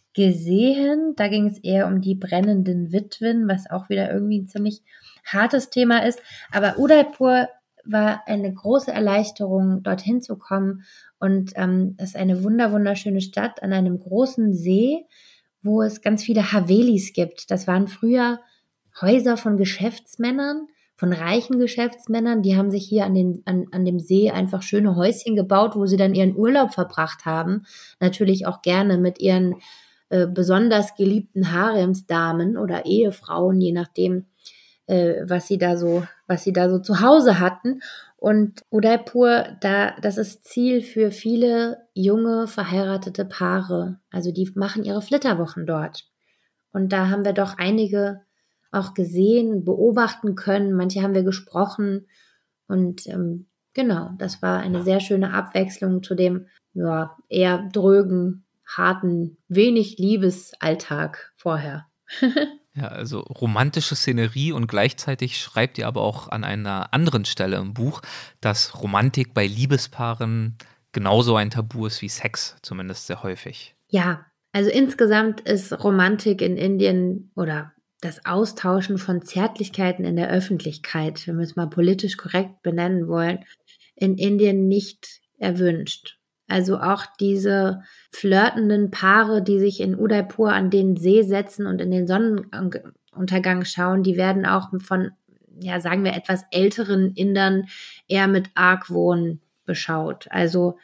gesehen. Da ging es eher um die brennenden Witwen, was auch wieder irgendwie ein ziemlich hartes Thema ist. Aber Udaipur war eine große Erleichterung, dorthin zu kommen. Und ähm, es ist eine wunder wunderschöne Stadt an einem großen See, wo es ganz viele Havelis gibt. Das waren früher Häuser von Geschäftsmännern, von reichen Geschäftsmännern. Die haben sich hier an, den, an, an dem See einfach schöne Häuschen gebaut, wo sie dann ihren Urlaub verbracht haben. Natürlich auch gerne mit ihren äh, besonders geliebten Haremsdamen oder Ehefrauen, je nachdem, äh, was sie da so, was sie da so zu Hause hatten. Und Udaipur, da, das ist Ziel für viele junge, verheiratete Paare. Also die machen ihre Flitterwochen dort. Und da haben wir doch einige auch gesehen, beobachten können. Manche haben wir gesprochen. Und ähm, genau, das war eine sehr schöne Abwechslung zu dem ja, eher drögen, harten, wenig Liebesalltag vorher. Ja, also romantische Szenerie und gleichzeitig schreibt ihr aber auch an einer anderen Stelle im Buch, dass Romantik bei Liebespaaren genauso ein Tabu ist wie Sex, zumindest sehr häufig. Ja, also insgesamt ist Romantik in Indien oder das Austauschen von Zärtlichkeiten in der Öffentlichkeit, wenn wir es mal politisch korrekt benennen wollen, in Indien nicht erwünscht. Also auch diese flirtenden Paare, die sich in Udaipur an den See setzen und in den Sonnenuntergang schauen, die werden auch von, ja, sagen wir, etwas älteren Indern eher mit Argwohn beschaut. Also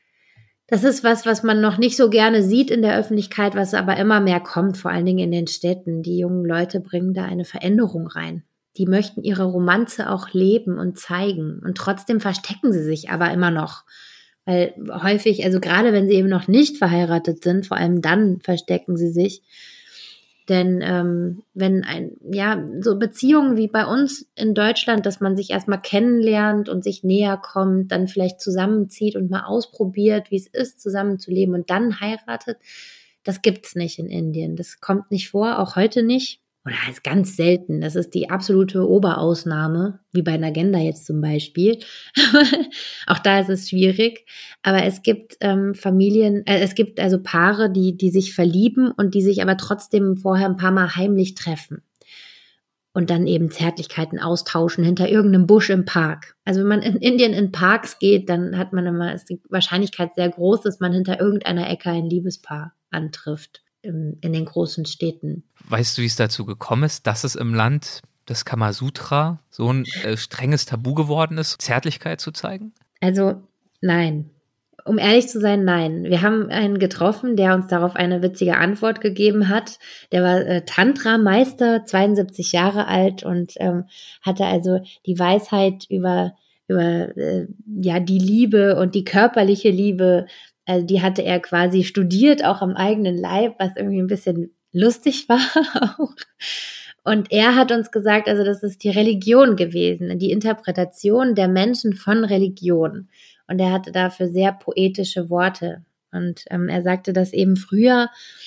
das ist was, was man noch nicht so gerne sieht in der Öffentlichkeit, was aber immer mehr kommt, vor allen Dingen in den Städten. Die jungen Leute bringen da eine Veränderung rein. die möchten ihre Romanze auch leben und zeigen. Und trotzdem verstecken sie sich aber immer noch. Weil häufig, also gerade wenn sie eben noch nicht verheiratet sind, vor allem dann verstecken sie sich. Denn ähm, wenn ein, ja, so Beziehungen wie bei uns in Deutschland, dass man sich erstmal kennenlernt und sich näher kommt, dann vielleicht zusammenzieht und mal ausprobiert, wie es ist, zusammenzuleben und dann heiratet, das gibt's nicht in Indien. Das kommt nicht vor, auch heute nicht. Oder ist ganz selten. Das ist die absolute Oberausnahme, wie bei Nagenda jetzt zum Beispiel. Auch da ist es schwierig. Aber es gibt ähm, Familien, äh, es gibt also Paare, die die sich verlieben und die sich aber trotzdem vorher ein paar Mal heimlich treffen. Und dann eben Zärtlichkeiten austauschen hinter irgendeinem Busch im Park. Also wenn man in Indien in Parks geht, dann hat man immer, ist die Wahrscheinlichkeit sehr groß, dass man hinter irgendeiner Ecke ein Liebespaar antrifft. In den großen Städten. Weißt du, wie es dazu gekommen ist, dass es im Land des Kamasutra so ein äh, strenges Tabu geworden ist, Zärtlichkeit zu zeigen? Also nein. Um ehrlich zu sein, nein. Wir haben einen getroffen, der uns darauf eine witzige Antwort gegeben hat. Der war äh, Tantra-Meister, zweiundsiebzig Jahre alt und ähm, hatte also die Weisheit über, über äh, ja, die Liebe und die körperliche Liebe. Also die hatte er quasi studiert, auch am eigenen Leib, was irgendwie ein bisschen lustig war auch. Und er hat uns gesagt, also das ist die Religion gewesen, die Interpretation der Menschen von Religion. Und er hatte dafür sehr poetische Worte. Und ähm, er sagte, dass eben früher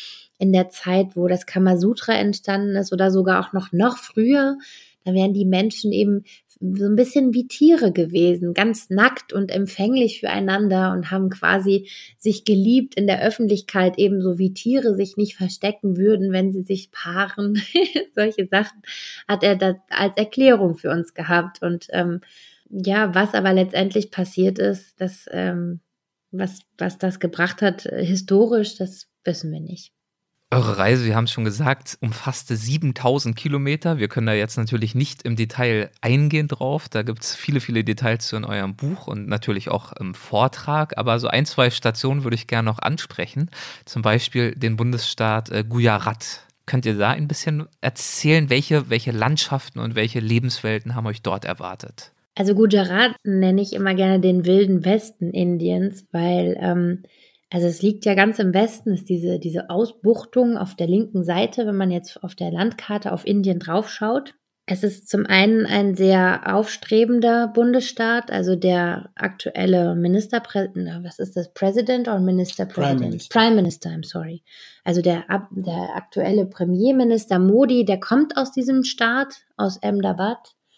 in der Zeit, wo das Kamasutra entstanden ist oder sogar auch noch noch früher, da wären die Menschen eben so ein bisschen wie Tiere gewesen, ganz nackt und empfänglich füreinander und haben quasi sich geliebt in der Öffentlichkeit, ebenso wie Tiere sich nicht verstecken würden, wenn sie sich paaren. Solche Sachen hat er da als Erklärung für uns gehabt. Und ähm, ja, was aber letztendlich passiert ist, das, ähm, was, was das gebracht hat, äh, historisch, das wissen wir nicht. Eure Reise, wir haben es schon gesagt, umfasste siebentausend Kilometer. Wir können da jetzt natürlich nicht im Detail eingehen drauf. Da gibt es viele, viele Details zu in eurem Buch und natürlich auch im Vortrag. Aber so ein, zwei Stationen würde ich gerne noch ansprechen. Zum Beispiel den Bundesstaat äh, Gujarat. Könnt ihr da ein bisschen erzählen, welche, welche Landschaften und welche Lebenswelten haben euch dort erwartet? Also Gujarat nenne ich immer gerne den wilden Westen Indiens, weil ähm, also es liegt ja ganz im Westen, ist diese, diese Ausbuchtung auf der linken Seite, wenn man jetzt auf der Landkarte auf Indien draufschaut. Es ist zum einen ein sehr aufstrebender Bundesstaat, also der aktuelle Ministerpräsident, was ist das, President oder Ministerpräsident? Prime Minister. Prime Minister, I'm sorry. Also der, der aktuelle Premierminister Modi, der kommt aus diesem Staat, aus Ahmedabad.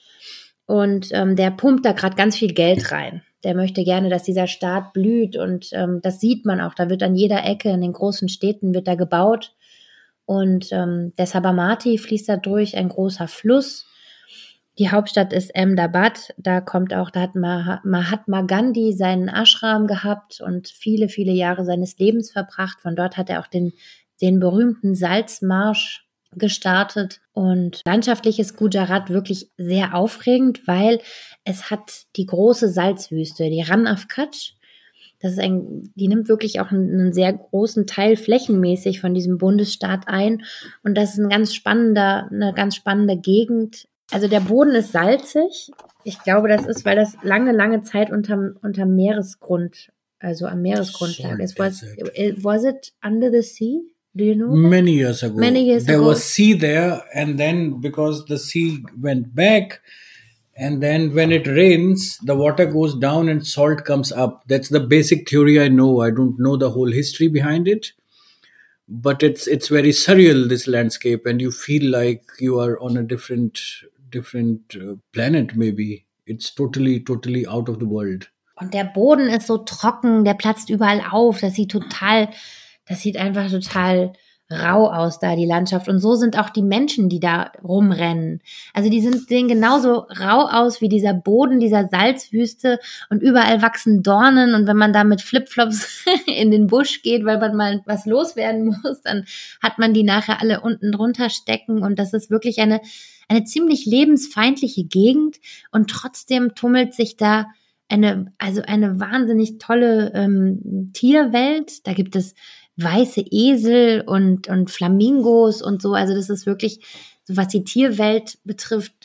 Und ähm, der pumpt da gerade ganz viel Geld rein. Der möchte gerne, dass dieser Staat blüht und ähm, das sieht man auch. Da wird an jeder Ecke in den großen Städten wird da gebaut und ähm, der Sabarmati fließt da durch, ein großer Fluss. Die Hauptstadt ist Ahmedabad. Da kommt auch, da hat Mahatma Gandhi seinen Ashram gehabt und viele, viele Jahre seines Lebens verbracht. Von dort hat er auch den, den berühmten Salzmarsch gestartet und landschaftlich ist Gujarat wirklich sehr aufregend, weil es hat die große Salzwüste, die Rann of Kutch. Das ist ein, die nimmt wirklich auch einen, einen sehr großen Teil flächenmäßig von diesem Bundesstaat ein und das ist ein ganz spannender, eine ganz spannende Gegend. Also der Boden ist salzig. Ich glaube, das ist, weil das lange, lange Zeit unterm, unterm Meeresgrund, also am Meeresgrund lag. It was, was it under the sea? Do you know that? Many years ago. Many years there ago. was sea there, and then because the sea went back, and then when it rains, the water goes down and salt comes up. That's the basic theory I know. I don't know the whole history behind it, but it's it's very surreal, this landscape, and you feel like you are on a different different uh, planet. Maybe it's totally totally out of the world. Und der Boden ist so trocken, der platzt überall auf. Das sieht total Das sieht einfach total rau aus da, die Landschaft. Und so sind auch die Menschen, die da rumrennen. Also die sind, sehen genauso rau aus wie dieser Boden dieser Salzwüste und überall wachsen Dornen. Und wenn man da mit Flipflops in den Busch geht, weil man mal was loswerden muss, dann hat man die nachher alle unten drunter stecken. Und das ist wirklich eine, eine ziemlich lebensfeindliche Gegend. Und trotzdem tummelt sich da eine, also eine wahnsinnig tolle ähm, Tierwelt. Da gibt es weiße Esel und, und Flamingos und so. Also das ist wirklich, so was die Tierwelt betrifft,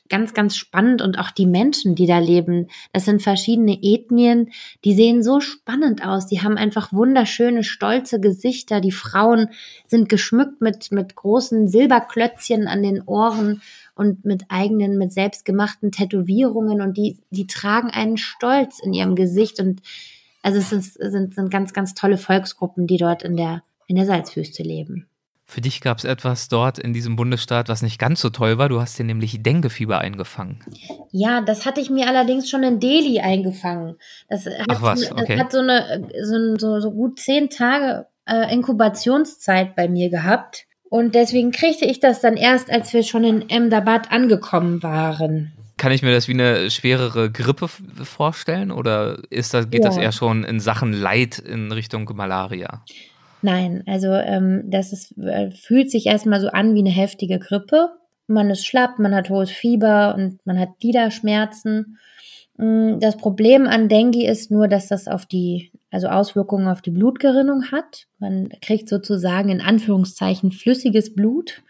ganz, ganz spannend und auch die Menschen, die da leben. Das sind verschiedene Ethnien, die sehen so spannend aus. Die haben einfach wunderschöne, stolze Gesichter. Die Frauen sind geschmückt mit, mit großen Silberklötzchen an den Ohren und mit eigenen, mit selbstgemachten Tätowierungen und die, die tragen einen Stolz in ihrem Gesicht und also es ist, sind, sind ganz, ganz tolle Volksgruppen, die dort in der, in der Salzwüste leben. Für dich gab es etwas dort in diesem Bundesstaat, was nicht ganz so toll war. Du hast dir nämlich Dengue-Fieber eingefangen. Ja, das hatte ich mir allerdings schon in Delhi eingefangen. Das hat, Ach was, okay. Das hat so eine so, so, so gut zehn Tage äh, Inkubationszeit bei mir gehabt. Und deswegen kriegte ich das dann erst, als wir schon in Ahmedabad angekommen waren. Kann ich mir das wie eine schwerere Grippe f- vorstellen oder ist das, geht Ja. das eher schon in Sachen Leid in Richtung Malaria? Nein, also ähm, das ist, äh, fühlt sich erstmal so an wie eine heftige Grippe. Man ist schlapp, man hat hohes Fieber und man hat Gliederschmerzen. Das Problem an Dengue ist nur, dass das auf die, also Auswirkungen auf die Blutgerinnung hat. Man kriegt sozusagen in Anführungszeichen flüssiges Blut.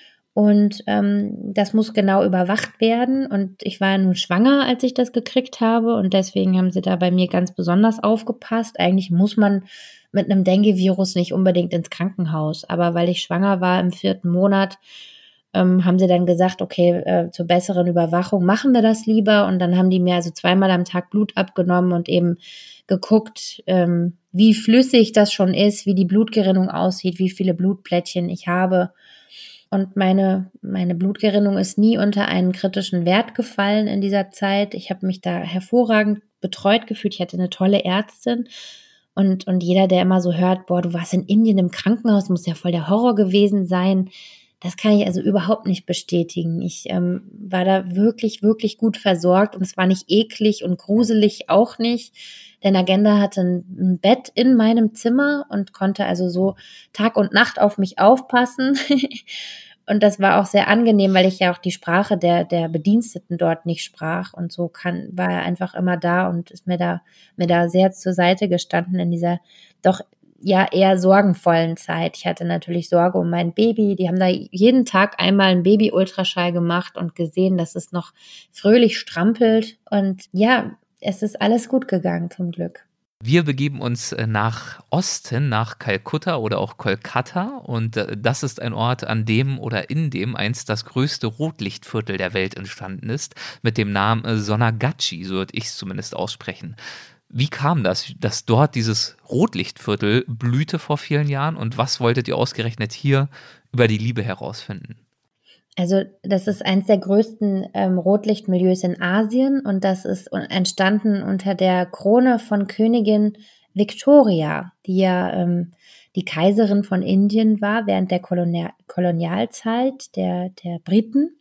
Und ähm, das muss genau überwacht werden. Und ich war nun schwanger, als ich das gekriegt habe. Und deswegen haben sie da bei mir ganz besonders aufgepasst. Eigentlich muss man mit einem Dengue-Virus nicht unbedingt ins Krankenhaus. Aber weil ich schwanger war im vierten Monat, ähm, haben sie dann gesagt, okay, äh, zur besseren Überwachung machen wir das lieber. Und dann haben die mir also zweimal am Tag Blut abgenommen und eben geguckt, ähm, wie flüssig das schon ist, wie die Blutgerinnung aussieht, wie viele Blutplättchen ich habe. Und meine, meine Blutgerinnung ist nie unter einen kritischen Wert gefallen in dieser Zeit. Ich habe mich da hervorragend betreut gefühlt. Ich hatte eine tolle Ärztin. Und, und jeder, der immer so hört, boah, du warst in Indien im Krankenhaus, muss ja voll der Horror gewesen sein. Das kann ich also überhaupt nicht bestätigen. Ich ähm, war da wirklich, wirklich gut versorgt und es war nicht eklig und gruselig auch nicht. Denn Nagenda hatte ein, ein Bett in meinem Zimmer und konnte also so Tag und Nacht auf mich aufpassen. Und das war auch sehr angenehm, weil ich ja auch die Sprache der, der Bediensteten dort nicht sprach. Und so kann, war er einfach immer da und ist mir da, mir da sehr zur Seite gestanden in dieser doch ja eher sorgenvollen Zeit. Ich hatte natürlich Sorge um mein Baby. Die haben da jeden Tag einmal einen Baby-Ultraschall gemacht und gesehen, dass es noch fröhlich strampelt. Und ja, es ist alles gut gegangen zum Glück. Wir begeben uns nach Osten, nach Kalkutta oder auch Kolkata und das ist ein Ort, an dem oder in dem einst das größte Rotlichtviertel der Welt entstanden ist, mit dem Namen Sonagachi, so würde ich es zumindest aussprechen. Wie kam das, dass dort dieses Rotlichtviertel blühte vor vielen Jahren und was wolltet ihr ausgerechnet hier über die Liebe herausfinden? Also das ist eines der größten ähm, Rotlichtmilieus in Asien und das ist entstanden unter der Krone von Königin Victoria, die ja ähm, die Kaiserin von Indien war während der Kolonial- Kolonialzeit der, der Briten.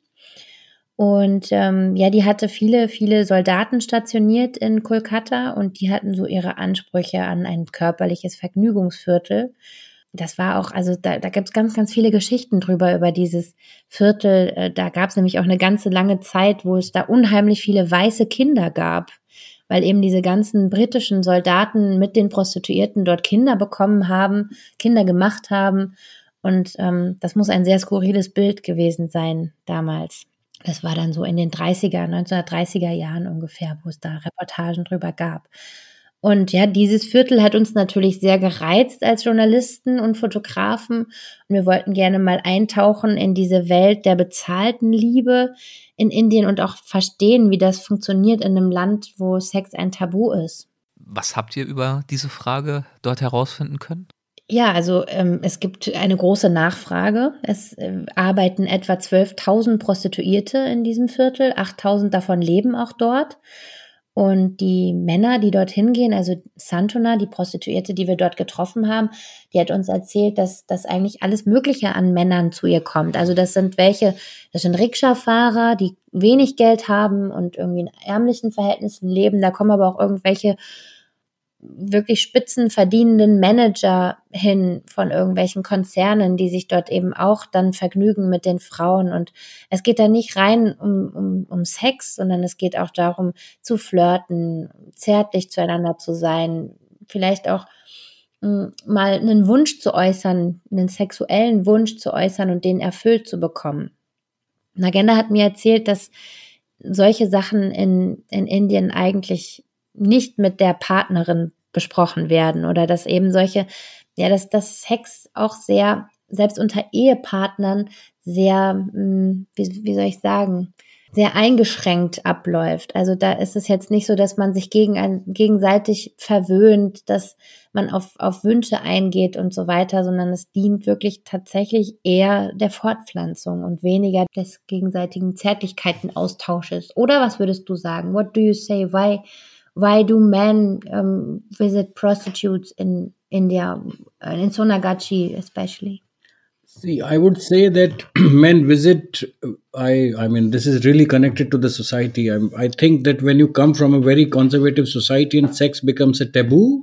Und ähm, ja, die hatte viele, viele Soldaten stationiert in Kolkata und die hatten so ihre Ansprüche an ein körperliches Vergnügungsviertel. Das war auch, also da, da gibt es ganz, ganz viele Geschichten drüber, über dieses Viertel. Da gab es nämlich auch eine ganze lange Zeit, wo es da unheimlich viele weiße Kinder gab, weil eben diese ganzen britischen Soldaten mit den Prostituierten dort Kinder bekommen haben, Kinder gemacht haben. Und ähm, das muss ein sehr skurriles Bild gewesen sein damals. Das war dann so in den dreißiger, neunzehnhundertdreißiger Jahren ungefähr, wo es da Reportagen drüber gab. Und ja, dieses Viertel hat uns natürlich sehr gereizt als Journalisten und Fotografen. Und wir wollten gerne mal eintauchen in diese Welt der bezahlten Liebe in Indien und auch verstehen, wie das funktioniert in einem Land, wo Sex ein Tabu ist. Was habt ihr über diese Frage dort herausfinden können? Ja, also ähm, es gibt eine große Nachfrage. Es äh, arbeiten etwa zwölftausend Prostituierte in diesem Viertel. achttausend davon leben auch dort. Und die Männer, die dorthin gehen, also Santona, die Prostituierte, die wir dort getroffen haben, die hat uns erzählt, dass das eigentlich alles Mögliche an Männern zu ihr kommt. Also das sind welche, das sind Rikscha-Fahrer, die wenig Geld haben und irgendwie in ärmlichen Verhältnissen leben. Da kommen aber auch irgendwelche wirklich spitzenverdienenden Manager hin von irgendwelchen Konzernen, die sich dort eben auch dann vergnügen mit den Frauen. Und es geht da nicht rein um, um, um Sex, sondern es geht auch darum, zu flirten, zärtlich zueinander zu sein, vielleicht auch m, mal einen Wunsch zu äußern, einen sexuellen Wunsch zu äußern und den erfüllt zu bekommen. Nagenda hat mir erzählt, dass solche Sachen in, in Indien eigentlich nicht mit der Partnerin besprochen werden oder dass eben solche, ja, dass, dass Sex auch sehr, selbst unter Ehepartnern sehr, wie, wie soll ich sagen, sehr eingeschränkt abläuft. Also da ist es jetzt nicht so, dass man sich gegen ein, gegenseitig verwöhnt, dass man auf, auf Wünsche eingeht und so weiter, sondern es dient wirklich tatsächlich eher der Fortpflanzung und weniger des gegenseitigen Zärtlichkeitenaustausches. Oder was würdest du sagen? What do you say? Why, why do men um, visit prostitutes in India, in Sonagachi especially? See, I would say that men visit. I, I mean, this is really connected to the society. I, I think that when you come from a very conservative society and sex becomes a taboo,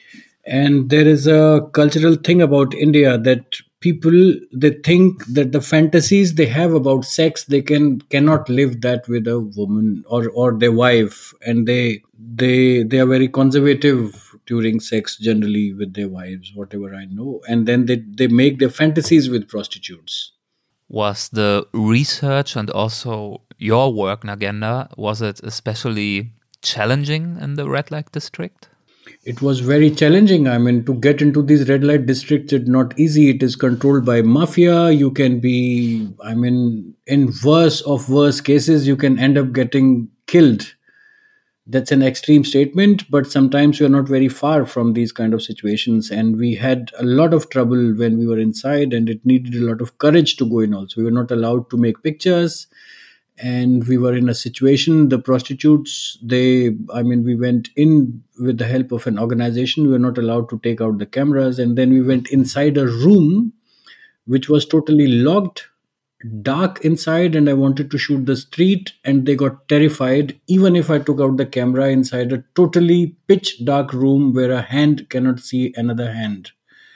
and there is a cultural thing about India that people, they think that the fantasies they have about sex, they can cannot live that with a woman or or their wife, and they they they are very conservative during sex generally with their wives, whatever I know, and then they they make their fantasies with prostitutes. Was the research and also your work, Nagenda, was it especially challenging in the red light district? It was very challenging. I mean, to get into these red light districts, it's not easy. It is controlled by mafia. You can be, I mean, in worse of worse cases, you can end up getting killed. That's an extreme statement, but sometimes we are not very far from these kind of situations. And we had a lot of trouble when we were inside, and it needed a lot of courage to go in also. We were not allowed to make pictures. And we were in a situation, the prostitutes, they, I mean, we went in with the help of an organization. We were not allowed to take out the cameras. And then we went inside a room, which was totally locked, dark inside. And I wanted to shoot the street. And they got terrified, even if I took out the camera inside a totally pitch dark room where a hand cannot see another hand.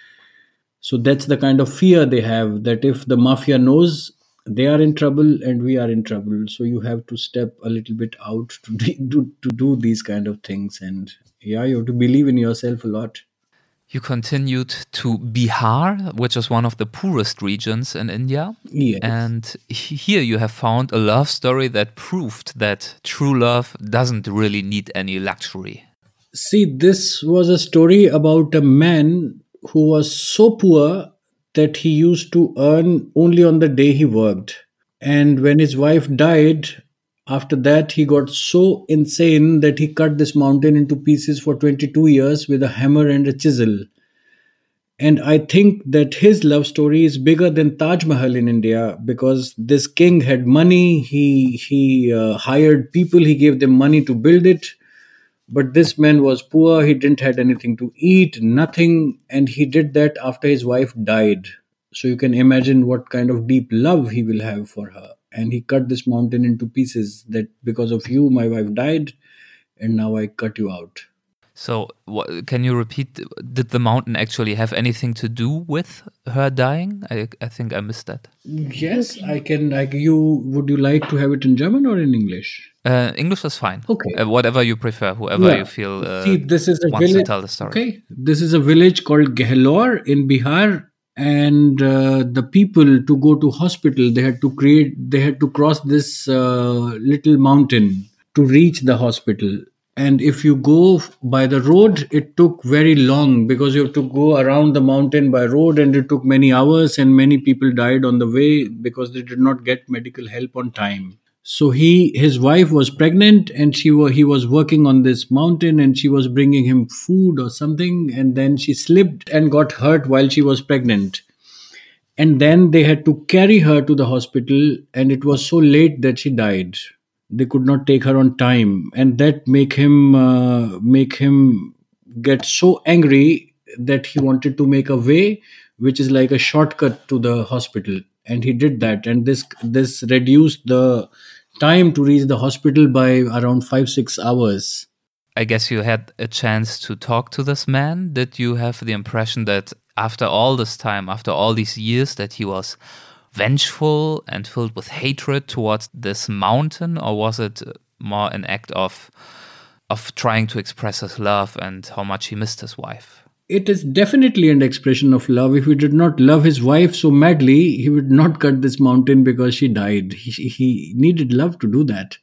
So that's the kind of fear they have, that if the mafia knows, they are in trouble and we are in trouble. So you have to step a little bit out to do, to do these kind of things. And yeah, you have to believe in yourself a lot. You continued to Bihar, which is one of the poorest regions in India. Yes. And here you have found a love story that proved that true love doesn't really need any luxury. See, this was a story about a man who was so poor that he used to earn only on the day he worked. And when his wife died, after that, he got so insane that he cut this mountain into pieces for twenty-two years with a hammer and a chisel. And I think that his love story is bigger than Taj Mahal in India, because this king had money, he, he uh, hired people, he gave them money to build it. But this man was poor, he didn't have anything to eat, nothing, and he did that after his wife died. So you can imagine what kind of deep love he will have for her. And he cut this mountain into pieces, that because of you, my wife died, and now I cut you out. So what, can you repeat, did the mountain actually have anything to do with her dying? I, I think I missed that. Yes, I can. I, you Would you like to have it in German or in English? Uh, English is fine. Okay. Uh, whatever you prefer, whoever Yeah. you feel uh, See, this is a wants village. to tell the story. Okay, this is a village called Gehlor in Bihar, and uh, the people, to go to hospital, they had to create. They had to cross this uh, little mountain to reach the hospital. And if you go by the road, it took very long, because you have to go around the mountain by road, and it took many hours, and many people died on the way because they did not get medical help on time. So he, his wife was pregnant, and she was, he was working on this mountain, and she was bringing him food or something, and then she slipped and got hurt while she was pregnant. And then they had to carry her to the hospital, and it was so late that she died. They could not take her on time, and that make him uh, make him get so angry that he wanted to make a way which is like a shortcut to the hospital, and he did that, and this this reduced the time to reach the hospital by around five six hours. I guess you had a chance to talk to this man. Did you have the impression that after all this time, after all these years, that he was vengeful and filled with hatred towards this mountain, or was it more an act of of trying to express his love and how much he missed his wife? It is definitely an expression of love. If he did not love his wife so madly, he would not cut this mountain because she died. He, he needed love to do that.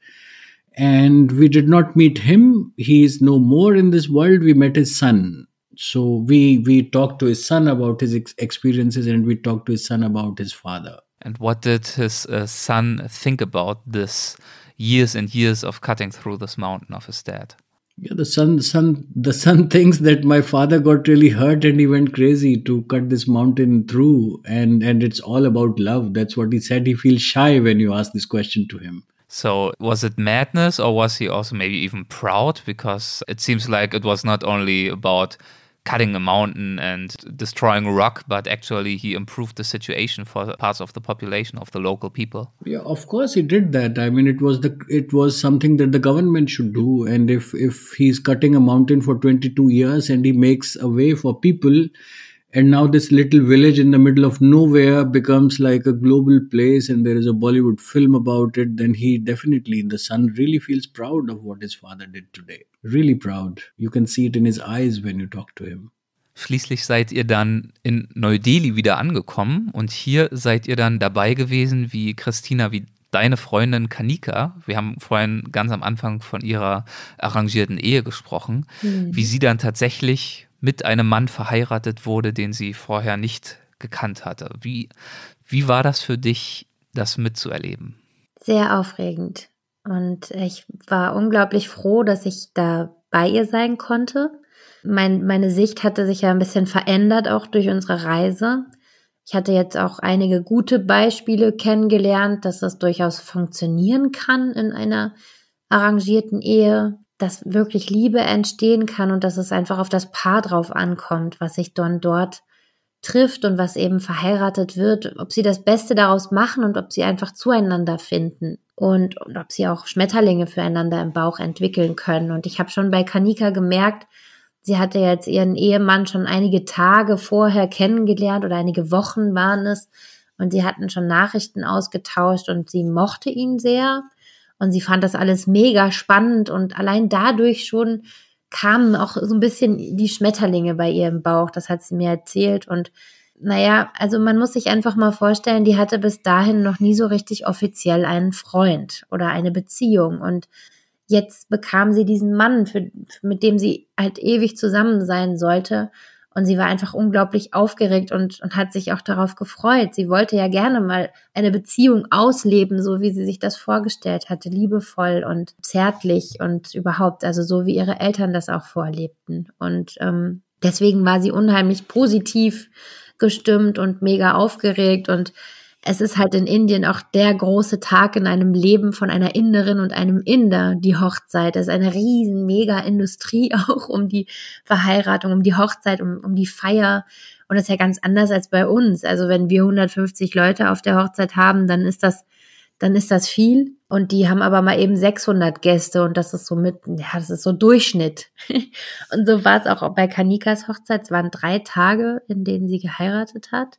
And we did not meet him. He is no more in this world. We met his son. So we we talked to his son about his ex- experiences, and we talked to his son about his father. And what did his uh, son think about this years and years of cutting through this mountain of his dad? Yeah, the son, the son, the son thinks that my father got really hurt and he went crazy to cut this mountain through, and and it's all about love. That's what he said. He feels shy when you ask this question to him. So was it madness, or was he also maybe even proud? Because it seems like it was not only about cutting a mountain and destroying rock, but actually he improved the situation for parts of the population, of the local people. Yeah, of course he did that. I mean, it was the it was something that the government should do. And if if he's cutting a mountain for twenty-two years and he makes a way for people, and now this little village in the middle of nowhere becomes like a global place, and there is a Bollywood film about it, then he definitely, the son really feels proud of what his father did today. Really proud. You can see it in his eyes when you talk to him. Schließlich seid ihr dann in Neu-Delhi wieder angekommen und hier seid ihr dann dabei gewesen, wie Christina, wie deine Freundin Kanika, wir haben vorhin ganz am Anfang von ihrer arrangierten Ehe gesprochen, mhm. wie sie dann tatsächlich mit einem Mann verheiratet wurde, den sie vorher nicht gekannt hatte. Wie, wie war das für dich, das mitzuerleben? Sehr aufregend. Und ich war unglaublich froh, dass ich da bei ihr sein konnte. Mein, meine Sicht hatte sich ja ein bisschen verändert, auch durch unsere Reise. Ich hatte jetzt auch einige gute Beispiele kennengelernt, dass das durchaus funktionieren kann in einer arrangierten Ehe, dass wirklich Liebe entstehen kann und dass es einfach auf das Paar drauf ankommt, was sich dann dort trifft und was eben verheiratet wird, ob sie das Beste daraus machen und ob sie einfach zueinander finden und, und ob sie auch Schmetterlinge füreinander im Bauch entwickeln können. Und ich habe schon bei Kanika gemerkt, sie hatte jetzt ihren Ehemann schon einige Tage vorher kennengelernt oder einige Wochen waren es und sie hatten schon Nachrichten ausgetauscht und sie mochte ihn sehr. Und sie fand das alles mega spannend und allein dadurch schon kamen auch so ein bisschen die Schmetterlinge bei ihr im Bauch. Das hat sie mir erzählt. Und naja, also man muss sich einfach mal vorstellen, die hatte bis dahin noch nie so richtig offiziell einen Freund oder eine Beziehung. Und jetzt bekam sie diesen Mann, für, mit dem sie halt ewig zusammen sein sollte. Und sie war einfach unglaublich aufgeregt und, und hat sich auch darauf gefreut. Sie wollte ja gerne mal eine Beziehung ausleben, so wie sie sich das vorgestellt hatte, liebevoll und zärtlich und überhaupt, also so wie ihre Eltern das auch vorlebten. Und ähm, deswegen war sie unheimlich positiv gestimmt und mega aufgeregt. Und es ist halt in Indien auch der große Tag in einem Leben von einer Inderin und einem Inder, die Hochzeit. Das ist eine riesen Mega-Industrie auch um die Verheiratung, um die Hochzeit, um, um die Feier. Und das ist ja ganz anders als bei uns. Also wenn wir hundertfünfzig Leute auf der Hochzeit haben, dann ist das, dann ist das viel. Und die haben aber mal eben sechshundert Gäste und das ist so mit, ja, das ist so Durchschnitt. Und so war es auch bei Kanikas Hochzeit. Es waren drei Tage, in denen sie geheiratet hat.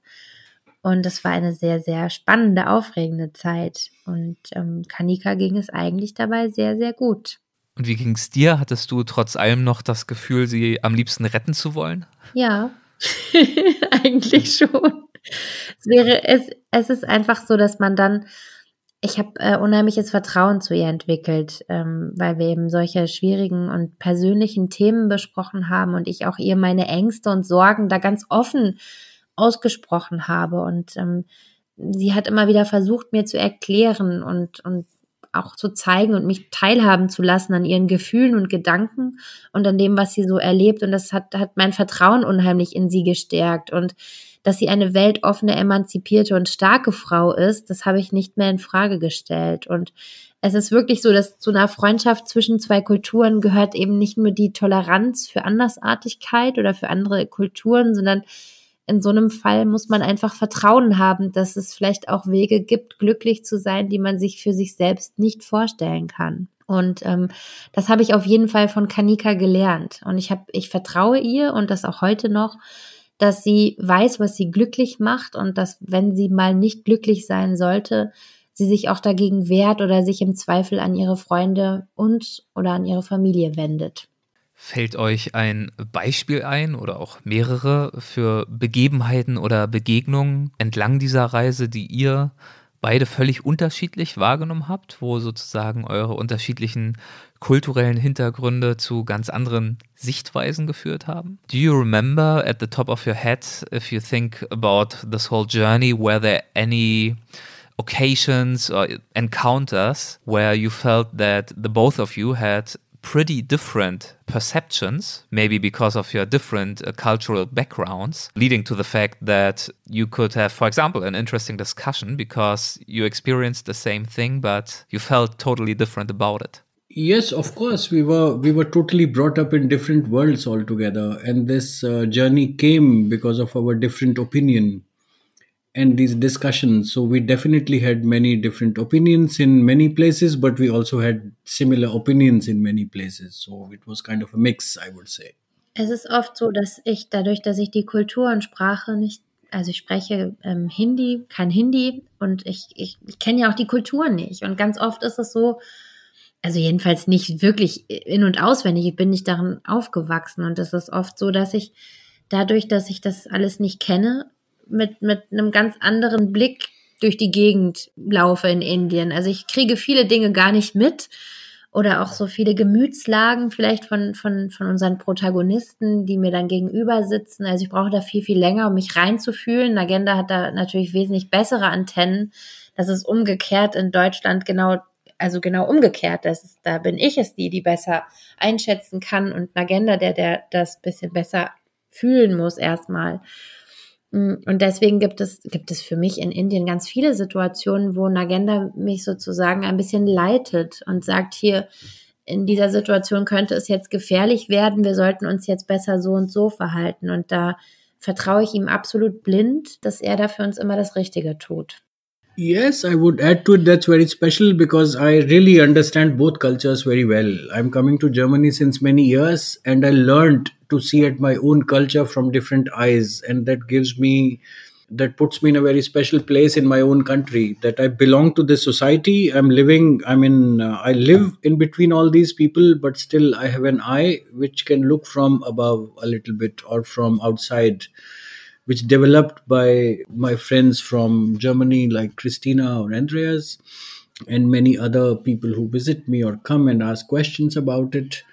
Und das war eine sehr, sehr spannende, aufregende Zeit. Und ähm, Kanika ging es eigentlich dabei sehr, sehr gut. Und wie ging es dir? Hattest du trotz allem noch das Gefühl, sie am liebsten retten zu wollen? Ja, eigentlich schon. Es wäre, es, es ist einfach so, dass man dann, ich habe äh, unheimliches Vertrauen zu ihr entwickelt, ähm, weil wir eben solche schwierigen und persönlichen Themen besprochen haben und ich auch ihr meine Ängste und Sorgen da ganz offen ausgesprochen habe und ähm, sie hat immer wieder versucht, mir zu erklären und, und auch zu zeigen und mich teilhaben zu lassen an ihren Gefühlen und Gedanken und an dem, was sie so erlebt und das hat, hat mein Vertrauen unheimlich in sie gestärkt und dass sie eine weltoffene, emanzipierte und starke Frau ist, das habe ich nicht mehr in Frage gestellt und es ist wirklich so, dass zu einer Freundschaft zwischen zwei Kulturen gehört eben nicht nur die Toleranz für Andersartigkeit oder für andere Kulturen, sondern in so einem Fall muss man einfach Vertrauen haben, dass es vielleicht auch Wege gibt, glücklich zu sein, die man sich für sich selbst nicht vorstellen kann. Und ähm, das habe ich auf jeden Fall von Kanika gelernt. Und ich habe, ich vertraue ihr und das auch heute noch, dass sie weiß, was sie glücklich macht und dass, wenn sie mal nicht glücklich sein sollte, sie sich auch dagegen wehrt oder sich im Zweifel an ihre Freunde und oder an ihre Familie wendet. Fällt euch ein Beispiel ein oder auch mehrere für Begebenheiten oder Begegnungen entlang dieser Reise, die ihr beide völlig unterschiedlich wahrgenommen habt, wo sozusagen eure unterschiedlichen kulturellen Hintergründe zu ganz anderen Sichtweisen geführt haben? Do you remember at the top of your head, if you think about this whole journey, were there any occasions or encounters where you felt that the both of you had pretty different perceptions, maybe because of your different uh, cultural backgrounds, leading to the fact that you could have, for example, an interesting discussion because you experienced the same thing, but you felt totally different about it? Yes, of course. We were we were totally brought up in different worlds altogether, and this uh, journey came because of our different opinion and these discussions. So we definitely had many different opinions in many places, but we also had similar opinions in many places. So it was kind of a mix, I would say. Es ist oft so, dass ich dadurch, dass ich die Kultur und Sprache nicht, also ich spreche ähm, Hindi, kein Hindi und ich, ich, ich kenne ja auch die Kultur nicht. Und ganz oft ist es so, also jedenfalls nicht wirklich in- und auswendig, ich bin nicht darin aufgewachsen. Und es ist oft so, dass ich dadurch, dass ich das alles nicht kenne, mit, mit einem ganz anderen Blick durch die Gegend laufe in Indien. Also ich kriege viele Dinge gar nicht mit oder auch so viele Gemütslagen vielleicht von, von, von unseren Protagonisten, die mir dann gegenüber sitzen. Also ich brauche da viel, viel länger, um mich reinzufühlen. Nagenda hat da natürlich wesentlich bessere Antennen. Das ist umgekehrt in Deutschland genau, also genau umgekehrt. Das ist, da bin ich es die, die besser einschätzen kann und Nagenda, der, der das bisschen besser fühlen muss erstmal. Und deswegen gibt es, gibt es für mich in Indien ganz viele Situationen, wo Nagenda mich sozusagen ein bisschen leitet und sagt, hier, in dieser Situation könnte es jetzt gefährlich werden, wir sollten uns jetzt besser so und so verhalten. Und da vertraue ich ihm absolut blind, dass er da für uns immer das Richtige tut. Yes, I would add to it that's very special because I really understand both cultures very well. I'm coming to Germany since many years and I learned to see at my own culture from different eyes, and that gives me, that puts me in a very special place in my own country, that I belong to this society. I'm living, I mean, uh, I live in between all these people, but still I have an eye which can look from above a little bit or from outside, which developed by my friends from Germany like Christina or Andreas and many other people who visit me or come and ask questions about it.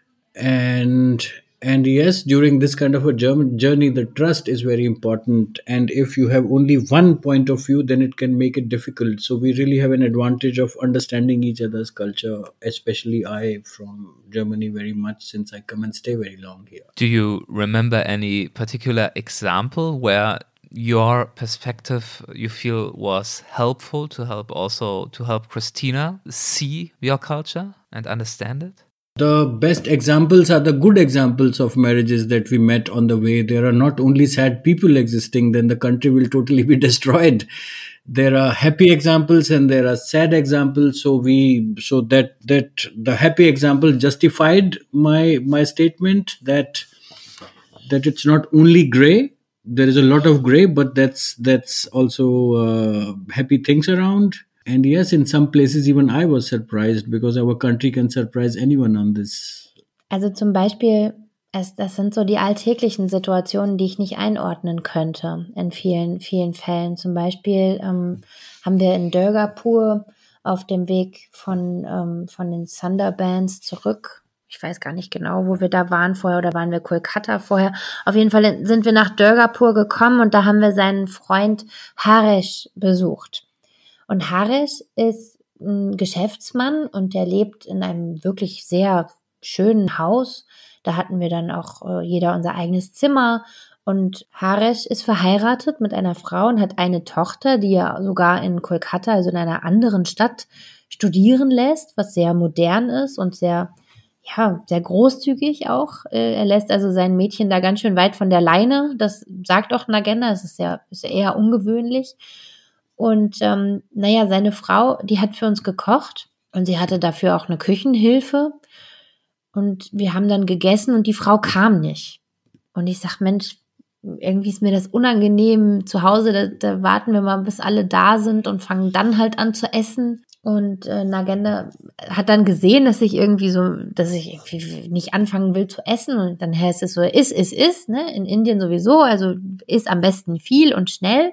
And and yes, during this kind of a German journey, the trust is very important. And if you have only one point of view, then it can make it difficult. So we really have an advantage of understanding each other's culture, especially I from Germany very much since I come and stay very long here. Do you remember any particular example where your perspective you feel was helpful to help also to help Christina see your culture and understand it? The best examples are the good examples of marriages that we met on the way. There are not only sad people existing, then the country will totally be destroyed. There are happy examples and there are sad examples. So we, so that, that the happy example justified my, my statement that, that it's not only gray. There is a lot of gray, but that's, that's also uh, happy things around. And yes, in some places even I was surprised because our country can surprise anyone on this. Also zum Beispiel, es, das sind so die alltäglichen Situationen, die ich nicht einordnen könnte in vielen, vielen Fällen. Zum Beispiel ähm, haben wir in Durgapur auf dem Weg von, ähm, von den Sundarbans zurück, ich weiß gar nicht genau, wo wir da waren vorher oder waren wir Kolkata vorher. Auf jeden Fall sind wir nach Durgapur gekommen und da haben wir seinen Freund Haresh besucht. Und Haresh ist ein Geschäftsmann und der lebt in einem wirklich sehr schönen Haus. Da hatten wir dann auch äh, jeder unser eigenes Zimmer. Und Haresh ist verheiratet mit einer Frau und hat eine Tochter, die er sogar in Kolkata, also in einer anderen Stadt, studieren lässt, was sehr modern ist und sehr, ja, sehr großzügig auch. Äh, er lässt also sein Mädchen da ganz schön weit von der Leine. Das sagt auch Nagenda, das ist ja, ist ja eher ungewöhnlich. Und ähm, naja, seine Frau, die hat für uns gekocht und sie hatte dafür auch eine Küchenhilfe und wir haben dann gegessen und die Frau kam nicht. Und ich sag, Mensch, irgendwie ist mir das unangenehm zu Hause, da, da warten wir mal, bis alle da sind und fangen dann halt an zu essen. Und äh, Nagenda hat dann gesehen, dass ich irgendwie so, dass ich irgendwie nicht anfangen will zu essen. Und dann heißt es so, iss, iss, iss, ne? In Indien sowieso, also iss am besten viel und schnell.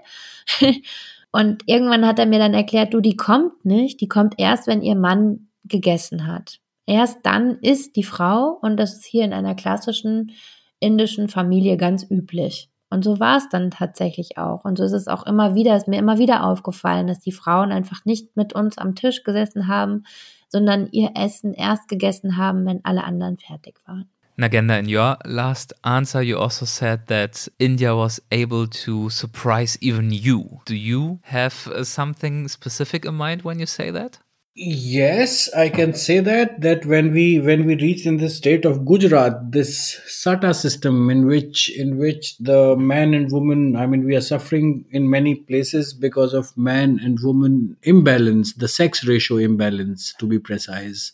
Und irgendwann hat er mir dann erklärt, du, die kommt nicht, die kommt erst, wenn ihr Mann gegessen hat. Erst dann isst die Frau, und das ist hier in einer klassischen indischen Familie ganz üblich. Und so war es dann tatsächlich auch. Und so ist es auch immer wieder, ist mir immer wieder aufgefallen, dass die Frauen einfach nicht mit uns am Tisch gesessen haben, sondern ihr Essen erst gegessen haben, wenn alle anderen fertig waren. Nagenda, in your last answer, you also said that India was able to surprise even you. Do you have uh, something specific in mind when you say that? Yes, I can say that that when we when we reached in the state of Gujarat, this Sata system in which in which the man and woman, I mean, we are suffering in many places because of man and woman imbalance, the sex ratio imbalance, to be precise.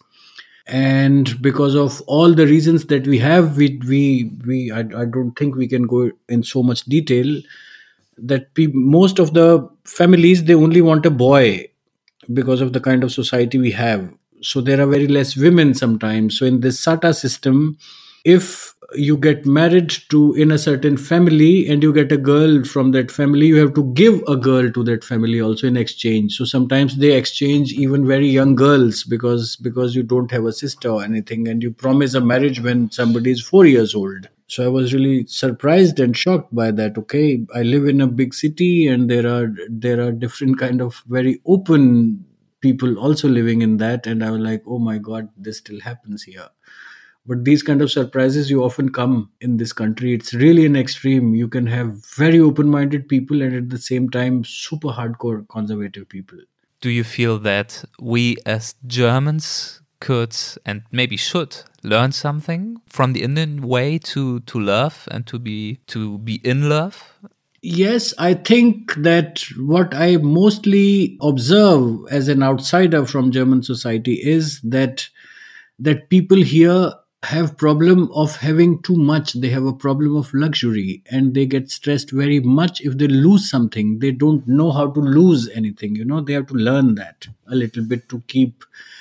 And because of all the reasons that we have, we we we I, I don't think we can go in so much detail. That pe- most of the families, they only want a boy, because of the kind of society we have. So there are very less women sometimes. So in this Sata system, if you get married to in a certain family and you get a girl from that family, you have to give a girl to that family also in exchange. So sometimes they exchange even very young girls because because you don't have a sister or anything, and you promise a marriage when somebody is four years old. So I was really surprised and shocked by that. Okay, I live in a big city, and there are there are different kind of very open people also living in that, and I was like, oh my God, this still happens here. But these kind of surprises, you often come in this country. It's really an extreme. You can have very open-minded people and at the same time super hardcore conservative people. Do you feel that we as Germans could and maybe should learn something from the Indian way to to love and to be to be in love? Yes, I think that what I mostly observe as an outsider from German society is that that people here have problem of having too much. They have a problem of luxury, and they get stressed very much if they lose something. They don't know how to lose anything. You know, they have to learn that a little bit to keep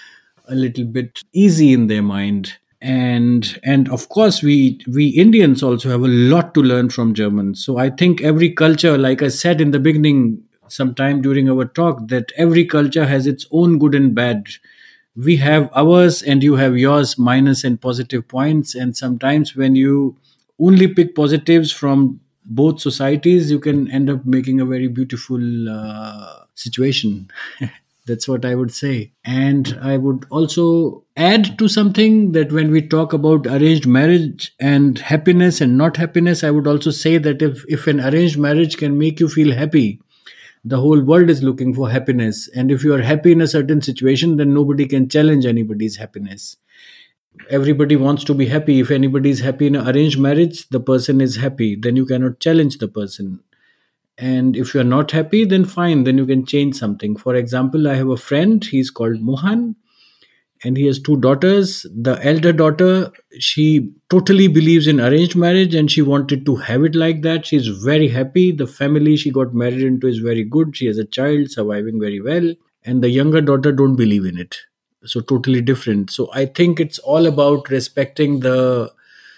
a little bit easy in their mind. And and of course we we Indians also have a lot to learn from Germans. So I think every culture, like I said in the beginning sometime during our talk, that every culture has its own good and bad. We have ours and you have yours, minus and positive points. And sometimes when you only pick positives from both societies, you can end up making a very beautiful uh, situation. That's what I would say. And I would also add to something that when we talk about arranged marriage and happiness and not happiness, I would also say that if, if an arranged marriage can make you feel happy, the whole world is looking for happiness. And if you are happy in a certain situation, then nobody can challenge anybody's happiness. Everybody wants to be happy. If anybody is happy in an arranged marriage, the person is happy. Then you cannot challenge the person. And if you're not happy, then fine, then you can change something. For example, I have a friend, he's called Mohan, and he has two daughters. The elder daughter, she totally believes in arranged marriage and she wanted to have it like that. She's very happy. The family she got married into is very good. She has a child surviving very well. And the younger daughter don't believe in it. So totally different. So I think it's all about respecting the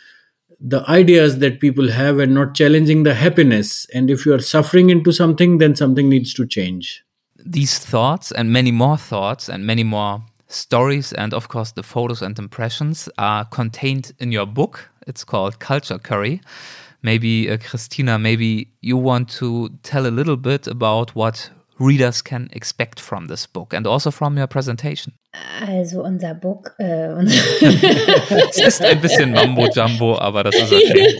the ideas that people have and not challenging the happiness. And if you are suffering into something, then something needs to change. These thoughts and many more thoughts and many more stories and of course the photos and impressions are contained in your book. It's called Culture Curry. Maybe uh, Christina, maybe you want to tell a little bit about what readers can expect from this book and also from your presentation. Also unser Book, äh, unser Es ist ein bisschen Mambo-Jumbo, aber das ist okay.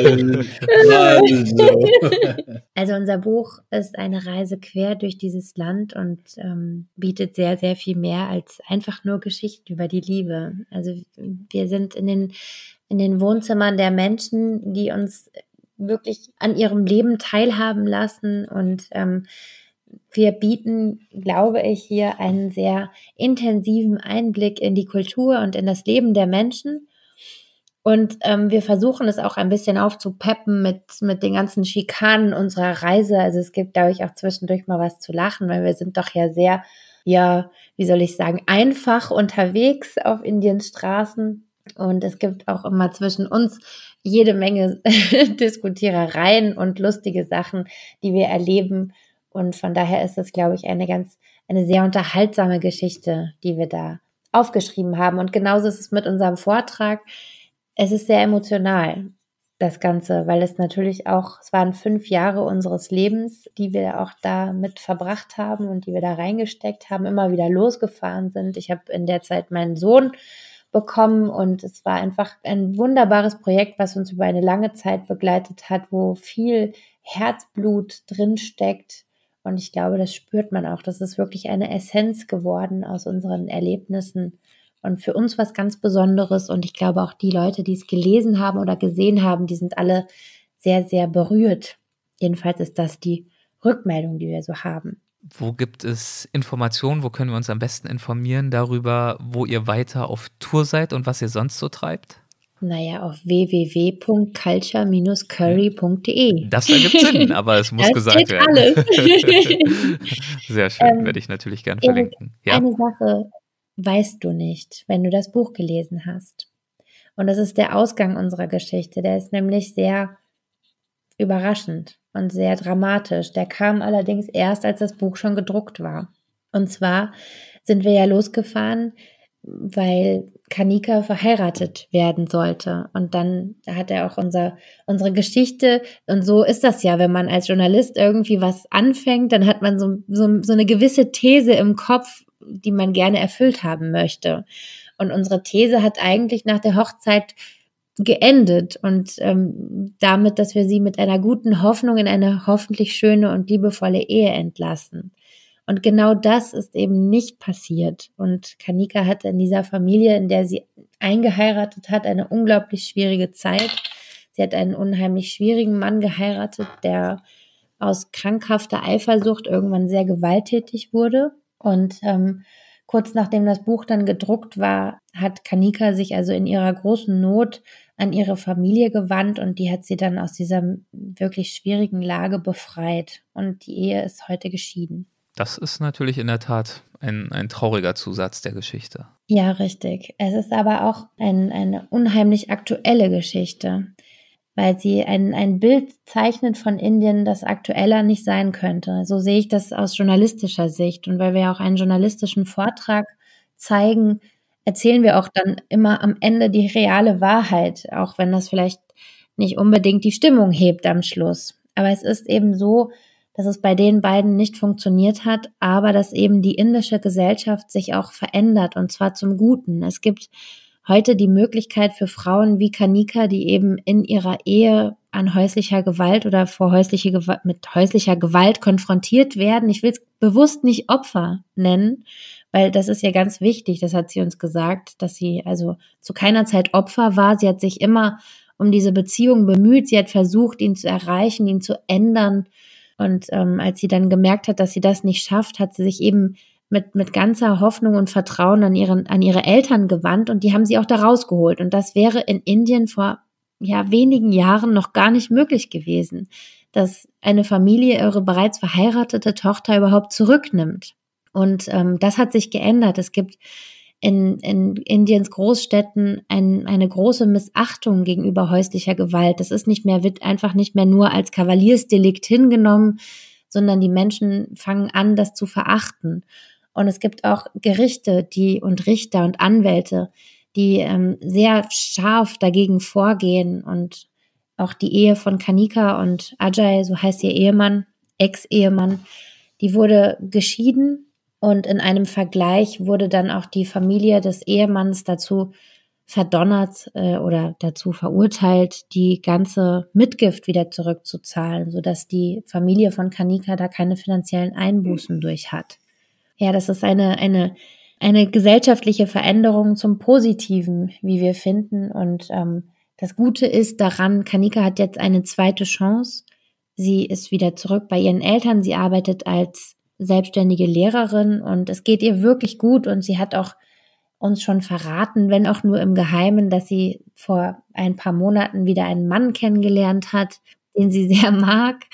Also unser Buch ist eine Reise quer durch dieses Land und ähm, bietet sehr, sehr viel mehr als einfach nur Geschichten über die Liebe. Also wir sind in den, in den Wohnzimmern der Menschen, die uns wirklich an ihrem Leben teilhaben lassen und ähm, wir bieten, glaube ich, hier einen sehr intensiven Einblick in die Kultur und in das Leben der Menschen. Und ähm, wir versuchen es auch ein bisschen aufzupeppen mit, mit den ganzen Schikanen unserer Reise. Also es gibt, glaube ich, auch zwischendurch mal was zu lachen, weil wir sind doch ja sehr ja, wie soll ich sagen, einfach unterwegs auf Indiens Straßen. Und es gibt auch immer zwischen uns jede Menge Diskutierereien und lustige Sachen, die wir erleben. Und von daher ist es, glaube ich, eine ganz, eine sehr unterhaltsame Geschichte, die wir da aufgeschrieben haben. Und genauso ist es mit unserem Vortrag. Es ist sehr emotional, das Ganze, weil es natürlich auch, es waren fünf Jahre unseres Lebens, die wir auch da mit verbracht haben und die wir da reingesteckt haben, immer wieder losgefahren sind. Ich habe in der Zeit meinen Sohn bekommen und es war einfach ein wunderbares Projekt, was uns über eine lange Zeit begleitet hat, wo viel Herzblut drin steckt. Und ich glaube, das spürt man auch. Das ist wirklich eine Essenz geworden aus unseren Erlebnissen und für uns was ganz Besonderes. Und ich glaube auch die Leute, die es gelesen haben oder gesehen haben, die sind alle sehr, sehr berührt. Jedenfalls ist das die Rückmeldung, die wir so haben. Wo gibt es Informationen? Wo können wir uns am besten informieren darüber, wo ihr weiter auf Tour seid und was ihr sonst so treibt? Naja, auf w w w punkt culture dash curry punkt d e. Das ergibt Sinn, aber es muss das gesagt werden. Alles. Sehr schön, ähm, werde ich natürlich gern Erik, verlinken. Ja? Eine Sache weißt du nicht, wenn du das Buch gelesen hast. Und das ist der Ausgang unserer Geschichte. Der ist nämlich sehr überraschend und sehr dramatisch. Der kam allerdings erst, als das Buch schon gedruckt war. Und zwar sind wir ja losgefahren, weil Kanika verheiratet werden sollte. Und dann hat er auch unser, unsere Geschichte, und so ist das ja, wenn man als Journalist irgendwie was anfängt, dann hat man so, so, so eine gewisse These im Kopf, die man gerne erfüllt haben möchte. Und unsere These hat eigentlich nach der Hochzeit geendet und ähm, damit, dass wir sie mit einer guten Hoffnung in eine hoffentlich schöne und liebevolle Ehe entlassen. Und genau das ist eben nicht passiert. Und Kanika hatte in dieser Familie, in der sie eingeheiratet hat, eine unglaublich schwierige Zeit. Sie hat einen unheimlich schwierigen Mann geheiratet, der aus krankhafter Eifersucht irgendwann sehr gewalttätig wurde. Und ähm, kurz nachdem das Buch dann gedruckt war, hat Kanika sich also in ihrer großen Not an ihre Familie gewandt und die hat sie dann aus dieser wirklich schwierigen Lage befreit. Und die Ehe ist heute geschieden. Das ist natürlich in der Tat ein, ein trauriger Zusatz der Geschichte. Ja, richtig. Es ist aber auch ein, eine unheimlich aktuelle Geschichte, weil sie ein, ein Bild zeichnet von Indien, das aktueller nicht sein könnte. So sehe ich das aus journalistischer Sicht. Und weil wir auch einen journalistischen Vortrag zeigen, erzählen wir auch dann immer am Ende die reale Wahrheit, auch wenn das vielleicht nicht unbedingt die Stimmung hebt am Schluss. Aber es ist eben so, dass es bei den beiden nicht funktioniert hat, aber dass eben die indische Gesellschaft sich auch verändert und zwar zum Guten. Es gibt heute die Möglichkeit für Frauen wie Kanika, die eben in ihrer Ehe an häuslicher Gewalt oder vor häusliche Gewalt, mit häuslicher Gewalt konfrontiert werden. Ich will es bewusst nicht Opfer nennen, weil das ist ja ganz wichtig, das hat sie uns gesagt, dass sie also zu keiner Zeit Opfer war. Sie hat sich immer um diese Beziehung bemüht, sie hat versucht, ihn zu erreichen, ihn zu ändern. Und ähm, als sie dann gemerkt hat, dass sie das nicht schafft, hat sie sich eben mit mit ganzer Hoffnung und Vertrauen an ihren an ihre Eltern gewandt und die haben sie auch da rausgeholt. Und das wäre in Indien vor ja wenigen Jahren noch gar nicht möglich gewesen, dass eine Familie ihre bereits verheiratete Tochter überhaupt zurücknimmt. Und ähm, das hat sich geändert. Es gibt in, in Indiens Großstädten ein, eine große Missachtung gegenüber häuslicher Gewalt. Das ist nicht mehr, wird einfach nicht mehr nur als Kavaliersdelikt hingenommen, sondern die Menschen fangen an, das zu verachten. Und es gibt auch Gerichte, die und Richter und Anwälte, die ähm, sehr scharf dagegen vorgehen. Und auch die Ehe von Kanika und Ajay, so heißt ihr Ehemann, Ex-Ehemann, die wurde geschieden. Und in einem Vergleich wurde dann auch die Familie des Ehemanns dazu verdonnert äh, oder dazu verurteilt, die ganze Mitgift wieder zurückzuzahlen, sodass die Familie von Kanika da keine finanziellen Einbußen durch hat. Ja, das ist eine, eine, eine gesellschaftliche Veränderung zum Positiven, wie wir finden. Und ähm, das Gute ist daran, Kanika hat jetzt eine zweite Chance. Sie ist wieder zurück bei ihren Eltern. Sie arbeitet als selbstständige Lehrerin und es geht ihr wirklich gut und sie hat auch uns schon verraten, wenn auch nur im Geheimen, dass sie vor ein paar Monaten wieder einen Mann kennengelernt hat, den sie sehr mag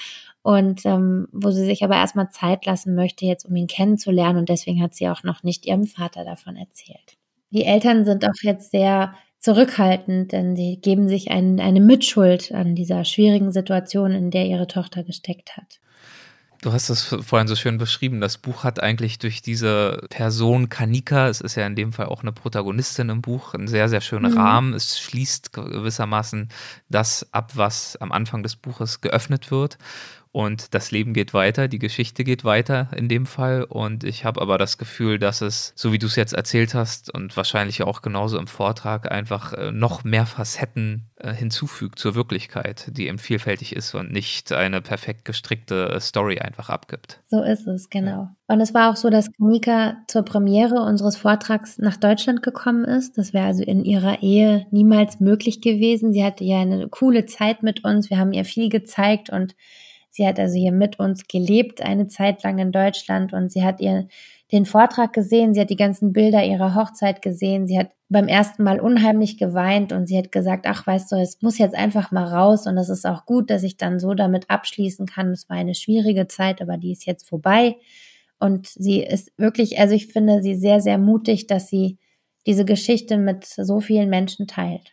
und ähm, wo sie sich aber erstmal Zeit lassen möchte, jetzt um ihn kennenzulernen, und deswegen hat sie auch noch nicht ihrem Vater davon erzählt. Die Eltern sind auch jetzt sehr zurückhaltend, denn sie geben sich ein, eine Mitschuld an dieser schwierigen Situation, in der ihre Tochter gesteckt hat. Du hast das vorhin so schön beschrieben. Das Buch hat eigentlich durch diese Person Kanika, es ist ja in dem Fall auch eine Protagonistin im Buch, einen sehr, sehr schönen mhm. Rahmen. Es schließt gewissermaßen das ab, was am Anfang des Buches geöffnet wird. Und das Leben geht weiter, die Geschichte geht weiter in dem Fall. Und ich habe aber das Gefühl, dass es, so wie du es jetzt erzählt hast und wahrscheinlich auch genauso im Vortrag, einfach noch mehr Facetten hinzufügt zur Wirklichkeit, die eben vielfältig ist und nicht eine perfekt gestrickte Story einfach abgibt. So ist es, genau. Und es war auch so, dass Kanika zur Premiere unseres Vortrags nach Deutschland gekommen ist. Das wäre also in ihrer Ehe niemals möglich gewesen. Sie hatte ja eine coole Zeit mit uns. Wir haben ihr viel gezeigt und sie hat also hier mit uns gelebt, eine Zeit lang in Deutschland, und sie hat ihr den Vortrag gesehen, sie hat die ganzen Bilder ihrer Hochzeit gesehen, sie hat beim ersten Mal unheimlich geweint und sie hat gesagt, ach, weißt du, es muss jetzt einfach mal raus, und es ist auch gut, dass ich dann so damit abschließen kann. Es war eine schwierige Zeit, aber die ist jetzt vorbei, und sie ist wirklich, also ich finde sie sehr, sehr mutig, dass sie diese Geschichte mit so vielen Menschen teilt.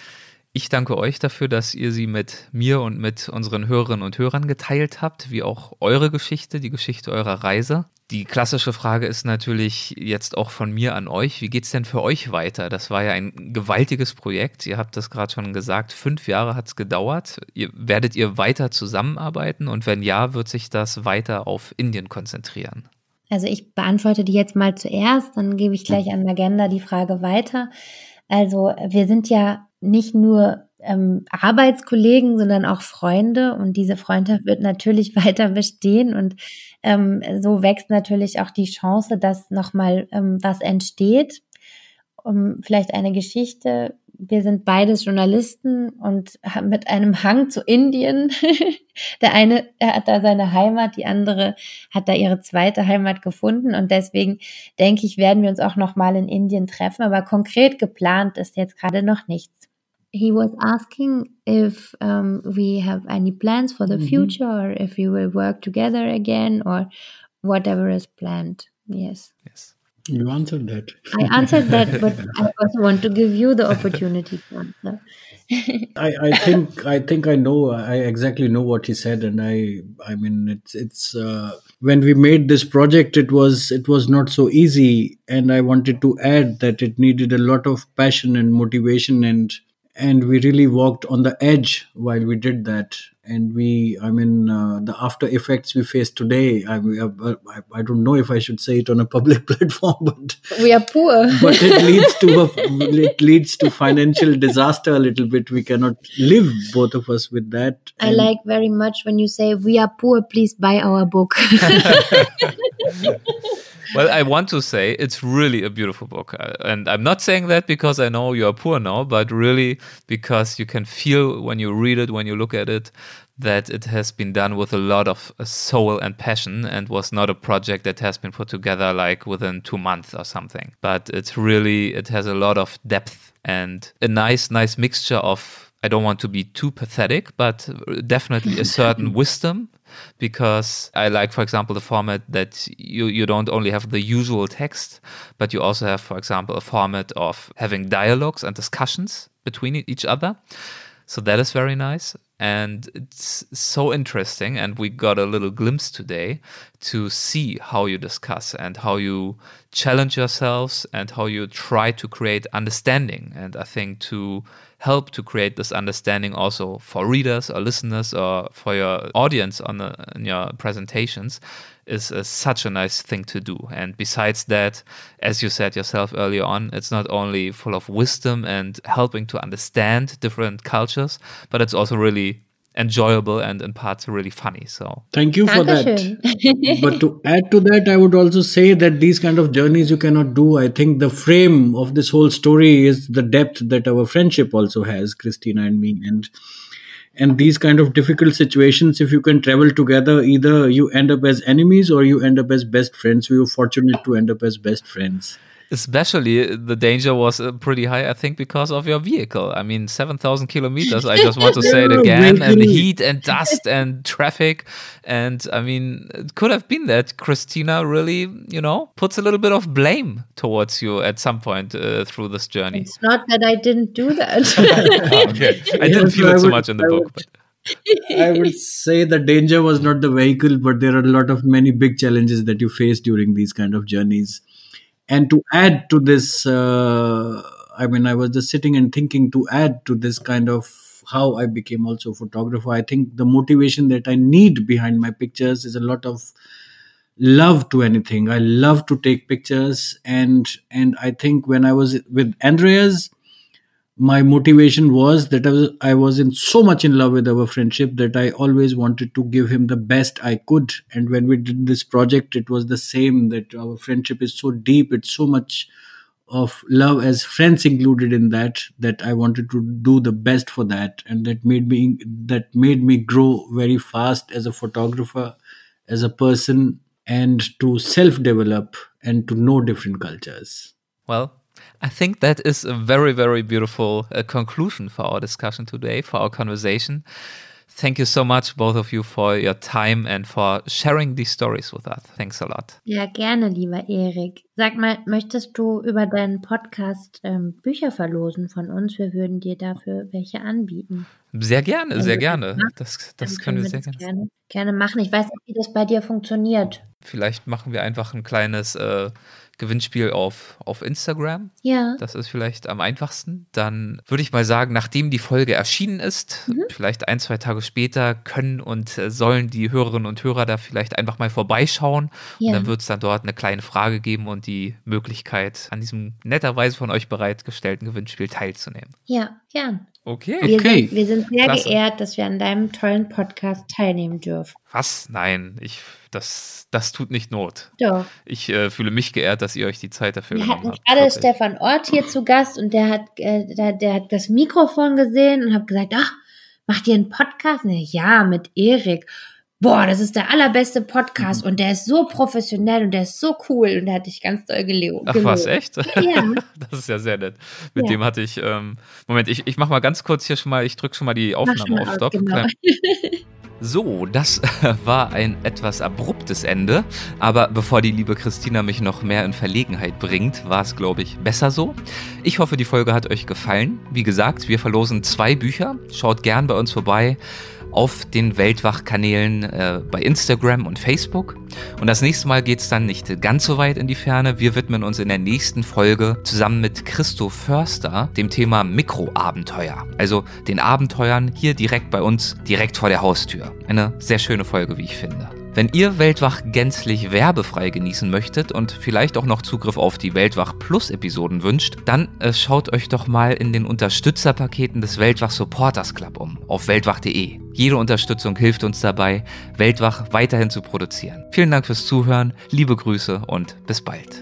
Ich danke euch dafür, dass ihr sie mit mir und mit unseren Hörerinnen und Hörern geteilt habt, wie auch eure Geschichte, die Geschichte eurer Reise. Die klassische Frage ist natürlich jetzt auch von mir an euch. Wie geht's denn für euch weiter? Das war ja ein gewaltiges Projekt. Ihr habt das gerade schon gesagt. Fünf Jahre hat's gedauert. Ihr, werdet ihr weiter zusammenarbeiten? Und wenn ja, wird sich das weiter auf Indien konzentrieren? Also ich beantworte die jetzt mal zuerst, dann gebe ich gleich an Nagenda die Frage weiter. Also wir sind ja nicht nur ähm, Arbeitskollegen, sondern auch Freunde, und diese Freundschaft wird natürlich weiter bestehen, und ähm, so wächst natürlich auch die Chance, dass nochmal ähm, was entsteht. Um, vielleicht eine Geschichte. Wir sind beides Journalisten und haben mit einem Hang zu Indien. Der eine er hat da seine Heimat, die andere hat da ihre zweite Heimat gefunden, und deswegen denke ich, werden wir uns auch nochmal in Indien treffen, aber konkret geplant ist jetzt gerade noch nichts. He was asking if um, we have any plans for the future, mm-hmm. or if we will work together again, or whatever is planned. Yes. Yes. You answered that. I answered that, but I also want to give you the opportunity to answer. I, I think I think I know I exactly know what he said, and I I mean it's it's uh, when we made this project, it was it was not so easy, and I wanted to add that it needed a lot of passion and motivation, and and we really walked on the edge while we did that. And we, I mean, uh, the after effects we face today, I, I, I don't know if I should say it on a public platform, but we are poor. But it leads to a, it leads to financial disaster a little bit. We cannot live, both of us, with that. I and like very much when you say we are poor. Please buy our book. Well, I want to say it's really a beautiful book. And I'm not saying that because I know you are poor now, but really because you can feel when you read it, when you look at it, that it has been done with a lot of soul and passion, and was not a project that has been put together like within two months or something. But it's really, it has a lot of depth and a nice, nice mixture of, I don't want to be too pathetic, but definitely a certain wisdom. Because I like, for example, the format that you, you don't only have the usual text, but you also have, for example, a format of having dialogues and discussions between each other. So that is very nice. And it's so interesting. And we got a little glimpse today to see how you discuss and how you challenge yourselves and how you try to create understanding. And I think to help to create this understanding also for readers or listeners or for your audience on the, in your presentations is uh, such a nice thing to do. And besides that, as you said yourself earlier on, it's not only full of wisdom and helping to understand different cultures, but it's also really enjoyable and in parts really funny. So thank you for Dankeschön. that. But to add to that, I would also say that these kind of journeys you cannot do. I think the frame of this whole story is the depth that our friendship also has, Christina and me. And and these kind of difficult situations, if you can travel together, either you end up as enemies or you end up as best friends. We were fortunate to end up as best friends. Especially the danger was uh, pretty high, I think, because of your vehicle. I mean, seven thousand kilometers, I just want to say it again, and heat and dust and traffic. And I mean, it could have been that Christina really, you know, puts a little bit of blame towards you at some point uh, through this journey. It's not that I didn't do that. Okay. I didn't feel it so much in the book. But. I would say the danger was not the vehicle, but there are a lot of many big challenges that you face during these kind of journeys. And to add to this, uh, I mean, I was just sitting and thinking to add to this kind of how I became also a photographer. I think the motivation that I need behind my pictures is a lot of love to anything. I love to take pictures. And, and I think when I was with Andreas, my motivation was that I was, I was in so much in love with our friendship that I always wanted to give him the best I could. And when we did this project, it was the same, that our friendship is so deep. It's so much of love as friends included in that, that I wanted to do the best for that. And that made me, that made me grow very fast as a photographer, as a person, and to self-develop and to know different cultures. Well, I think that is a very, very beautiful uh, conclusion for our discussion today, for our conversation. Thank you so much, both of you, for your time and for sharing these stories with us. Thanks a lot. Ja, gerne, lieber Erik. Sag mal, möchtest du über deinen Podcast ähm, Bücher verlosen von uns? Wir würden dir dafür welche anbieten. Sehr gerne, sehr Also, gerne. Das, das können wir sehr das gerne. gerne, gerne machen. Ich weiß nicht, wie das bei dir funktioniert. Vielleicht machen wir einfach ein kleines äh, Gewinnspiel auf, auf Instagram. Ja. Das ist vielleicht am einfachsten. Dann würde ich mal sagen, nachdem die Folge erschienen ist, mhm. vielleicht ein, zwei Tage später, können und äh, sollen die Hörerinnen und Hörer da vielleicht einfach mal vorbeischauen. Ja. Und dann wird es dann dort eine kleine Frage geben und die Möglichkeit, an diesem netterweise von euch bereitgestellten Gewinnspiel teilzunehmen. Ja, gern. Okay. Wir, okay. Sind, wir sind sehr Klasse. geehrt, dass wir an deinem tollen Podcast teilnehmen dürfen. Was? Nein, ich, das, das tut nicht Not. Doch. Ich äh, fühle mich geehrt, dass ihr euch die Zeit dafür Wir genommen hatten habt. gerade Wirklich. Stefan Ort hier zu Gast und der hat, äh, der, der hat das Mikrofon gesehen und hat gesagt, ach, macht ihr einen Podcast? Und ich, ja, mit Erik. Boah, das ist der allerbeste Podcast mhm. und der ist so professionell und der ist so cool und der hat dich ganz doll gelobt. Ach was, echt? Ja. Das ist ja sehr nett. Mit Ja. dem hatte ich, ähm, Moment, ich, ich mach mal ganz kurz hier schon mal, ich drücke schon mal die Mach schon Aufnahme mal auf aus, Stopp. genau. Klein- So, das war ein etwas abruptes Ende, aber bevor die liebe Christina mich noch mehr in Verlegenheit bringt, war es, glaube ich, besser so. Ich hoffe, die Folge hat euch gefallen. Wie gesagt, wir verlosen zwei Bücher. Schaut gern bei uns vorbei auf den Weltwach-Kanälen äh, bei Instagram und Facebook. Und das nächste Mal geht es dann nicht ganz so weit in die Ferne. Wir widmen uns in der nächsten Folge zusammen mit Christo Förster dem Thema Mikroabenteuer. Also den Abenteuern hier direkt bei uns, direkt vor der Haustür. Eine sehr schöne Folge, wie ich finde. Wenn ihr Weltwach gänzlich werbefrei genießen möchtet und vielleicht auch noch Zugriff auf die Weltwach Plus Episoden wünscht, dann äh, schaut euch doch mal in den Unterstützerpaketen des Weltwach Supporters Club um, auf weltwach punkt de. Jede Unterstützung hilft uns dabei, Weltwach weiterhin zu produzieren. Vielen Dank fürs Zuhören, liebe Grüße und bis bald.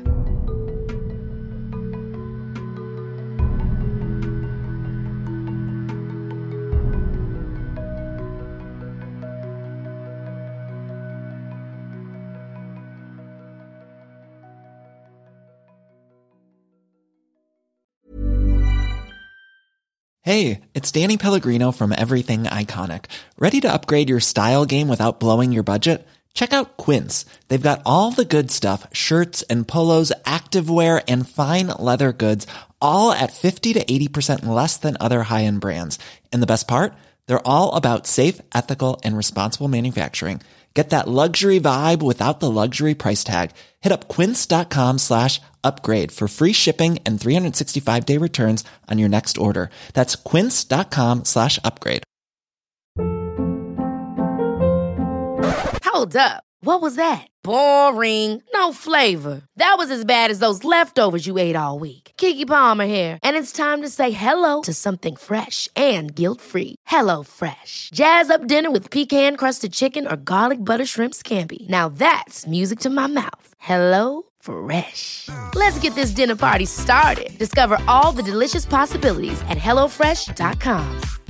Hey, it's Danny Pellegrino from Everything Iconic. Ready to upgrade your style game without blowing your budget? Check out Quince. They've got all the good stuff, shirts and polos, activewear, and fine leather goods, all at fifty to eighty percent less than other high-end brands. And the best part? They're all about safe, ethical, and responsible manufacturing. Get that luxury vibe without the luxury price tag. Hit up quince.com slash upgrade for free shipping and three sixty-five day returns on your next order. That's quince.com slash upgrade. Hold up. What was that? Boring. No flavor. That was as bad as those leftovers you ate all week. Keke Palmer here, and it's time to say hello to something fresh and guilt-free. Hello Fresh. Jazz up dinner with pecan-crusted chicken or garlic butter shrimp scampi. Now that's music to my mouth. Hello Fresh. Let's get this dinner party started. Discover all the delicious possibilities at hello fresh dot com.